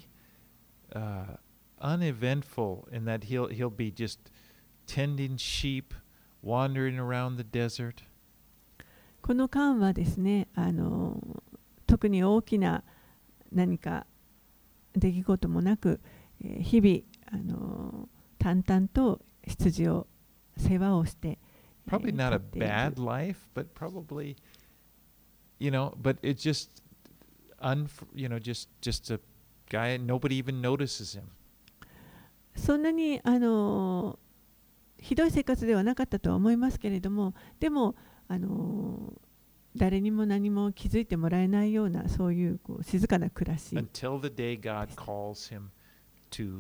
uneventful in that he'll be just tending sheep, wandering around the desert. この間はですね、特に大きな何か出来事もなく、日々淡々と羊を世話をして、 Probably not a bad life, but probably, but it's just, just a guy, nobody even notices him. そんなにひどい生活ではなかったとは思いますけれども、でも誰にも何も気づいてもらえないようなそういう静かな暮らし。 Until the day God calls him to,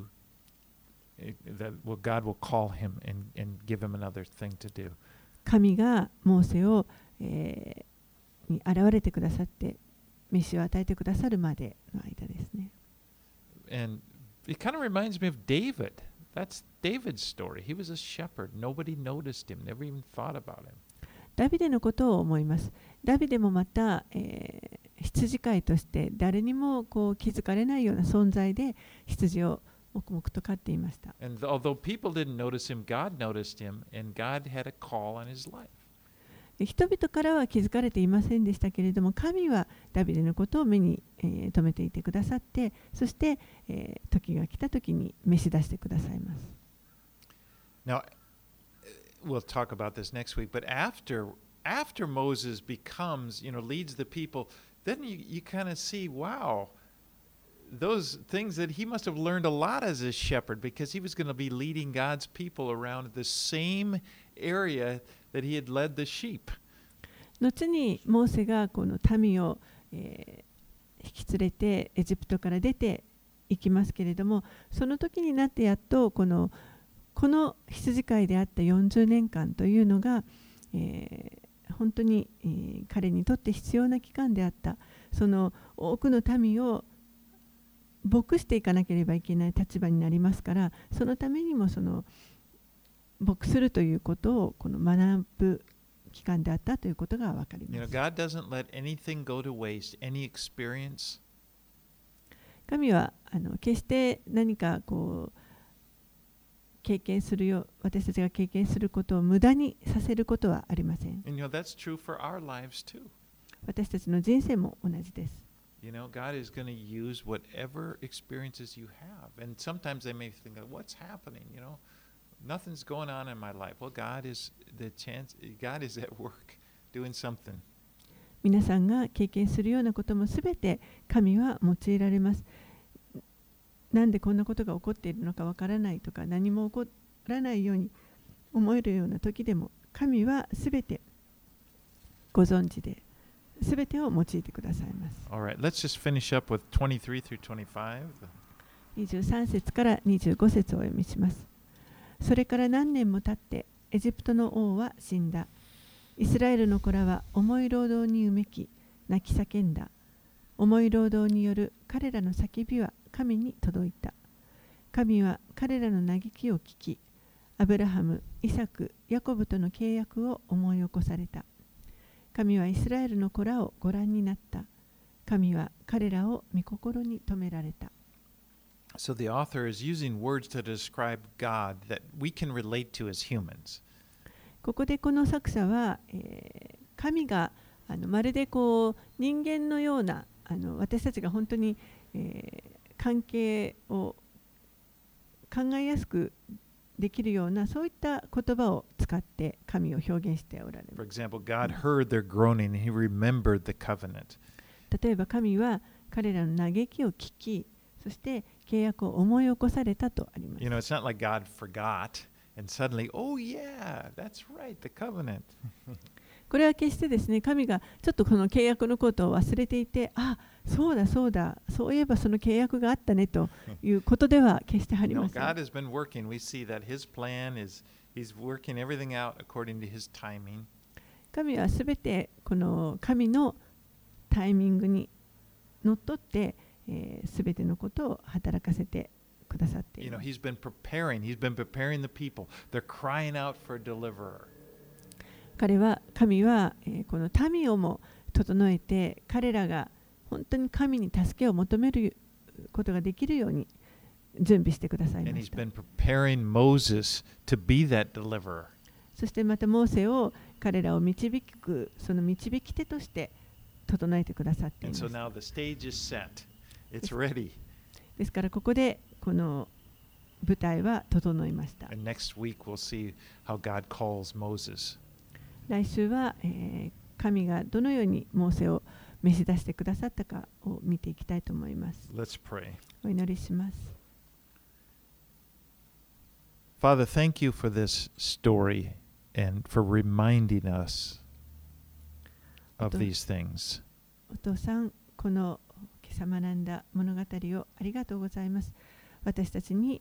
God will call him and give him another thing to do. 神がモーセを、に現れてくださって、召しを与えてくださるまでの間ですね。 And it kind of reminds me of David. That's David's story. He was a shepherd. Nobody noticed him, never even thought about him. ダビデのことを思います。ダビデもまた、羊飼いとして誰にも気づかれないような存在で羊を黙々と飼っていました。 And although people didn't notice him, God noticed him, and God had a call on his life. 人々からは気づかれていませんでしたけれども、神はダビデのことを目に、留めていてくださって、そして、時が来た時に召し出してくださいます。 Now, we'll talk about this next week, but after Moses becomes, leads the people, then you kind of see, wow, those things that he must have learned a lot as a shepherd, because he was going to be leading God's people around the same area that he had led the sheep. 後にモーセがこの民を、引き連れてエジプトから出ていきますけれども、その時になってやっとこの羊飼いであった40年間というのが、本当に、彼にとって必要な期間であった。その多くの民を牧していかなければいけない立場になりますから、そのためにもその牧するということをこの学ぶ期間であったということが分かります。 God doesn't let anything go to waste, any experience. 神は決して何か経験するよ、私たちが経験することを無駄にさせることはありません。 And that's true for our lives too. 私たちの人生も同じです。 God is going to use whatever experiences you have. And sometimes they may think, what's happening? Nothing's going on in my life. Well, God is at work doing something. 皆さんが経験するようなこともすべて神は用いられます。なんでこんなことが起こっているのかわからないとか、何も起こらないように思えるような時でも、神はすべてご存知で、すべてを用いてくださいます。 All right, let's just finish up with 23 through 25. 23節から25節をお読みします。それから何年も経って、エジプトの王は死んだ。イスラエルの子らは重い労働にうめき、泣き叫んだ。重い労働による彼らの叫びは神に届いた。神は彼らの嘆きを聞き、アブラハム、イサク、ヤコブとの契約を思い起こされた。神はイスラエルの子らをご覧になった。神は彼らを御心に留められた。 So the author is using words to describe God that we can relate to as humans. ここでこの作者は、神がまるでこう人間のような私たちが本当に、関係を考えやすくできるようなそういった言葉を使って神を表現しておられます。 For example, God heard their groaning and he remembered the covenant. 例えば神は彼らの嘆きを聞き、そして契約を思い起こされたとあります。 You know, it's not like God forgot and suddenly, oh yeah, that's right, the covenant. これは決してですね、神がちょっとこの契約のことを忘れていて、あ、そうだそうだ、そういえばその契約があったねということでは決してあり No, ません。 God has been working. We see that his plan is, he's working everything out according to his timing. 神はすべてこの神のタイミングにのっとって、すべてのことを働かせてくださってい You ま know, す。 he's been preparing the people. They're crying out for a deliverer. 神は、この民をも整えて、彼らが本当に神に助けを求めることができるように準備してください And ま he's した。 been preparing Moses to be that deliverer. そしてまたモーセを彼らを導くその導き手として整えてくださっていま And す。 so now the stage is set. It's ready. ですからここでこの舞台は整いました。 And next week we'll see how God calls Moses. 来週は、神がどのようにモーセを召し出してくださったかを見ていきたいと思います。 Let's pray. お祈りします。 Father, thank you for this story and for reminding us of these things. お父さん、この今朝学んだ物語をありがとうございます。私たちに、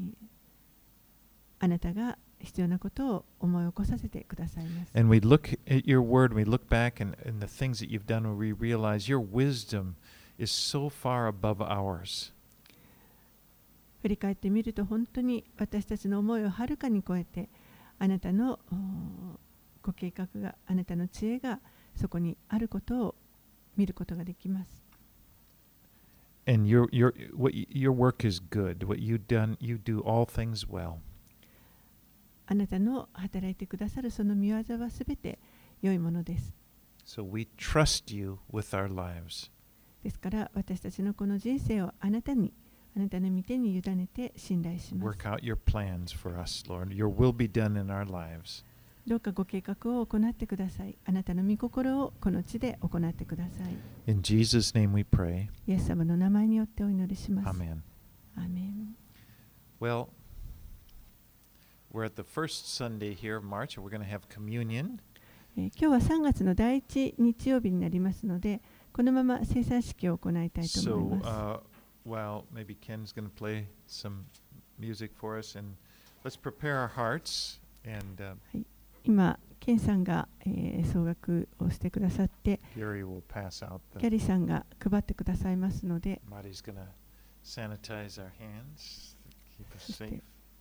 あなたが必要なことを思い起こさせてくださいます。 And we look at your word, we look back and the things that you've done, and we realize your wisdom is so far above ours. 振り返ってみると本当に私たちの思いをはるかに超えて、あなたのご計画が、あなたの知恵がそこにあることを見ることができます。 And your work is good. What you've done, you do all things well. あなたの働いてくださるその御業はすべて良いものです。 So we trust you with our lives. ですから私たちのこの人生をあなたの御手に委ねて信頼します。 Work out your plans for us, Lord. Your will be done in our lives. どうかご計画を行ってください。あなたの御心をこの地で行ってください。 In Jesus' name we pray. イエス様の名前によってお祈りします。 Amen. アーメン。 Well, we're at the first Sunday here of March, and we're going to have communion. 今日は3月の第1日曜日になりますので、このまま聖餐式を行いたいと思い So, ます。 well, maybe Ken's going to play some music for us, and let's prepare our hearts. And 今、ケンさんが、奏楽をしてくださって、 Gary will pass out キャ the. リーさんが配ってくださいますので、 Marty's going to sanitize our hands, keep us safe.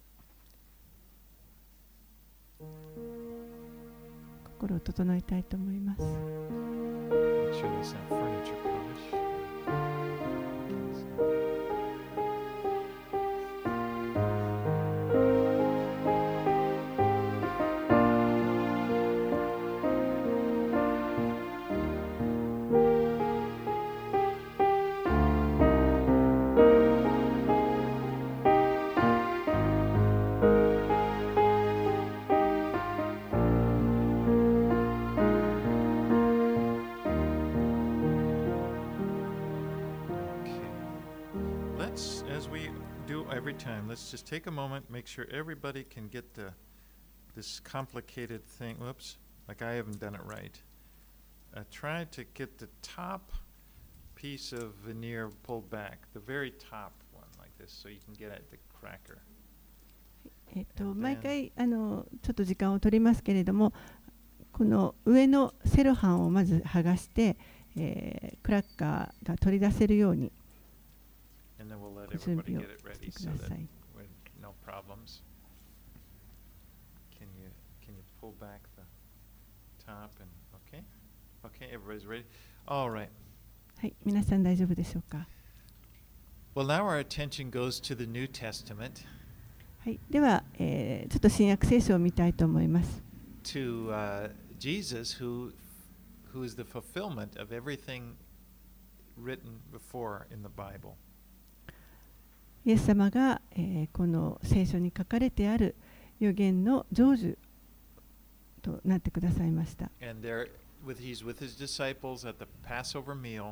心を整えたいと思います。 Make sure there's not furniture polish. As we do every time, let's just take a moment, make sure everybody can get this complicated thing. Whoops, like I haven't done it right. try to get the top piece of veneer pulled back, the very top one like this, so you can get at the cracker. 毎回ちょっと時間を取りますけれども、この上のセロハンをまず剥がして、クラッカーが取り出せるように準備をしてください。 No problems. Can you pull back the top and okay? Okay, everybody's ready. All right. はい、皆さん大丈夫でしょうか。 Well, now our attention goes to the New Testament. はい、では、ちょっと新約聖書を見たいと思います。 To Jesus, who is the fulfillment of everything written before in the Bible. イエス様が、この聖書に書かれてある預言の成就となってくださいました。 And there, he's with his disciples at the Passover meal.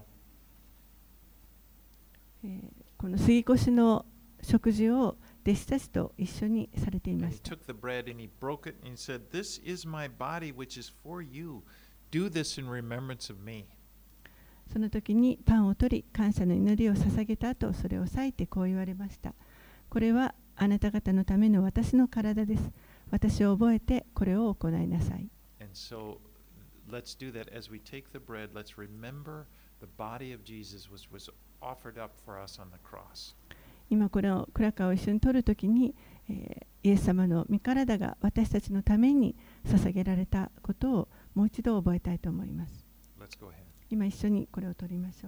この杉越の食事を弟子たちと一緒にされていました。 He took the bread and he broke it and he said, "This is my body which is for you. Do this in remembrance of me." その時にパンを取り、感謝の祈りを捧げた後、それを裂いてこう言われました。これはあなた方のための私の体です。私を覚えてこれを行いなさい。 And so let's do that as we take the bread. Let's remember the body of Jesus was offered up for us on the cross. 今これをクラッカーを一緒に取るときに、イエス様の御体が私たちのために捧げられたことをもう一度覚えたいと思います。 Let's go ahead. 今一緒にこれを取りましょう。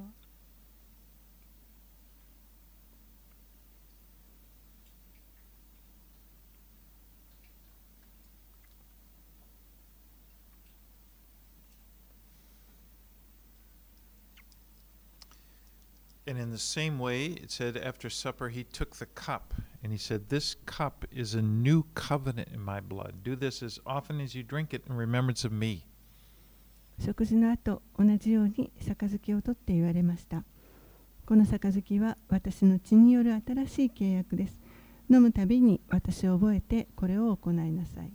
And in the same way, it said after supper, he took the cup and he said, "This cup is a new covenant in my blood. Do this as often as you drink it in remembrance of me." 食事の後、同じように杯を取って言われました。この杯は私の血による新しい契約です。飲むたびに私を覚えてこれを行いなさい。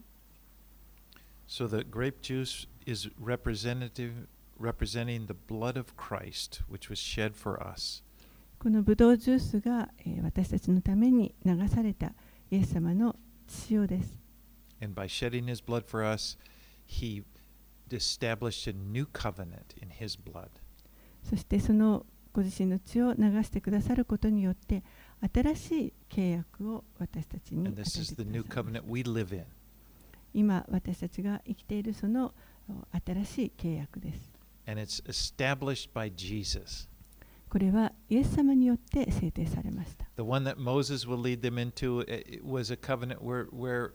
So the grape juice is representing the blood of Christ, which was shed for us. このブドウジュースが、私たちのために流されたイエス様の血潮です。 And by shedding his blood for us, he established a new covenant in his blood. そしてそのご自身の血を流してくださることによって新しい契約を私たちに与えてくださいました。今私たちが生きているその新しい契約です。 And it's established by Jesus. これはイエス様によって制定されました。 The one that Moses will lead them into it was a covenant where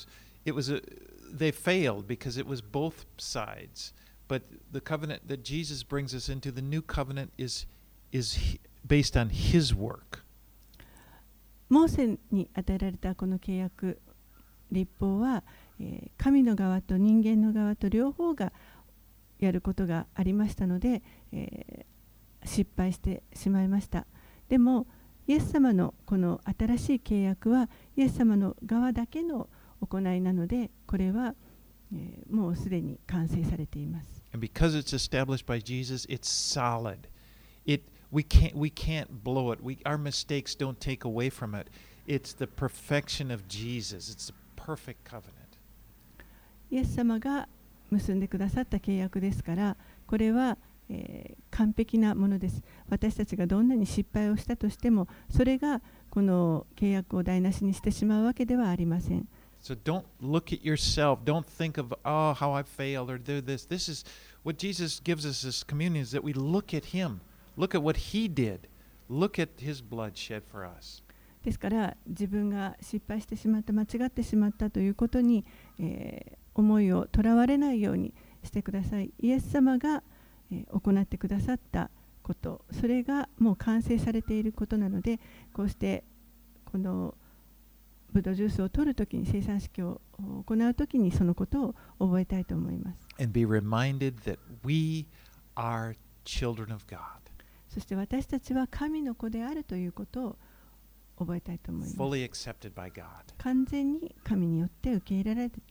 they failed because it was both sides. But the covenant that Jesus brings us into, the new covenant, is based on his work. モーセに与えられたこの契約、律法は、神の側と人間の側と両方がやることがありましたので、失敗してしまいました。でもイエス様のこの新しい契約はイエス様の側だけの行いなので、これは、もうすでに完成されています。 And because it's established by Jesus, it's solid. We can't blow it. Our mistakes don't take away from it. It's the perfection of Jesus. It's the perfect covenant. イエス様が結んでくださった契約ですから、これは、完璧なものです。私たちがどんなに失敗をしたとしても、それがこの契約を台無しにしてしまうわけではありません。 So don't look at yourself. Don't think of, oh, how I failed or do this. This is what Jesus gives us as communion, is that we look at him. Look at what he did. Look at his blood shed for us. ですから自分が失敗してしまった、間違ってしまったということに、思いをとらわれないようにしてください。イエス様が、行ってくださったこと、それがもう完成されていることなので、こうしてこのブドウジュースを取るときに、生産式を行うときにそのことを覚えたいと思います。 And be reminded that we are children of God. そして私たちは神の子であるということを覚えたいと思います。 Fully accepted by God. 完全に神によって受け入れら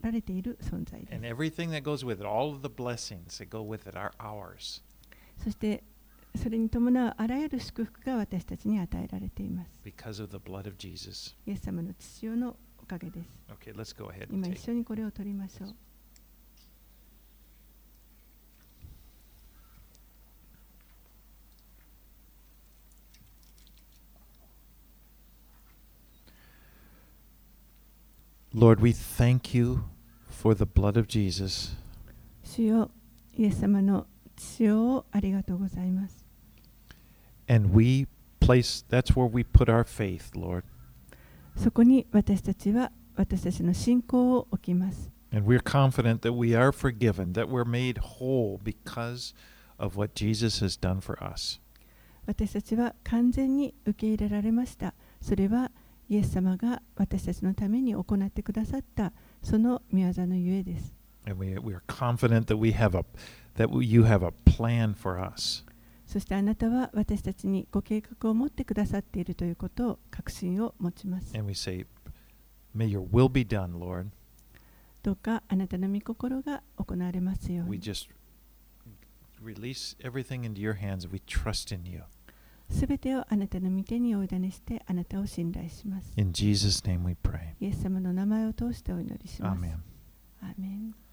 られている存在で And す。 everything that goes with it, all of the blessings that go with it are ours. そしてそれに伴うあらゆる祝福が私たちに与えられています。 Because of the blood of Jesus. イエス様の血潮のおかげです。 Okay, let's go ahead and 今 take 一緒にこれを取りましょう。 Lord, we thank you for the blood of Jesus. 主よ、イエス様の血潮をありがとうございます。 And we place, that's where we put our faith, Lord. そこに私たちは私たちの信仰を置きます。 And we're confident that we are forgiven, that we're made whole because of what Jesus has done for us. 私たちは完全に受け入れられました。それはイエス様が私たちのために行ってくださったその御業のゆえです。 And we are confident that you have a plan for us. そしてあなたは私たちにご計画を持ってくださっているということを確信を持ちます。 And we say, may your will be done, Lord. どうかあなたの御心が行われますよう We に。 just release everything into your hands and we trust in you. すべてをあなたの御手にお委ねしてあなたを信頼します。 In Jesus' name we pray. イエス様の名前を通してお祈りします。 Amen. アーメン。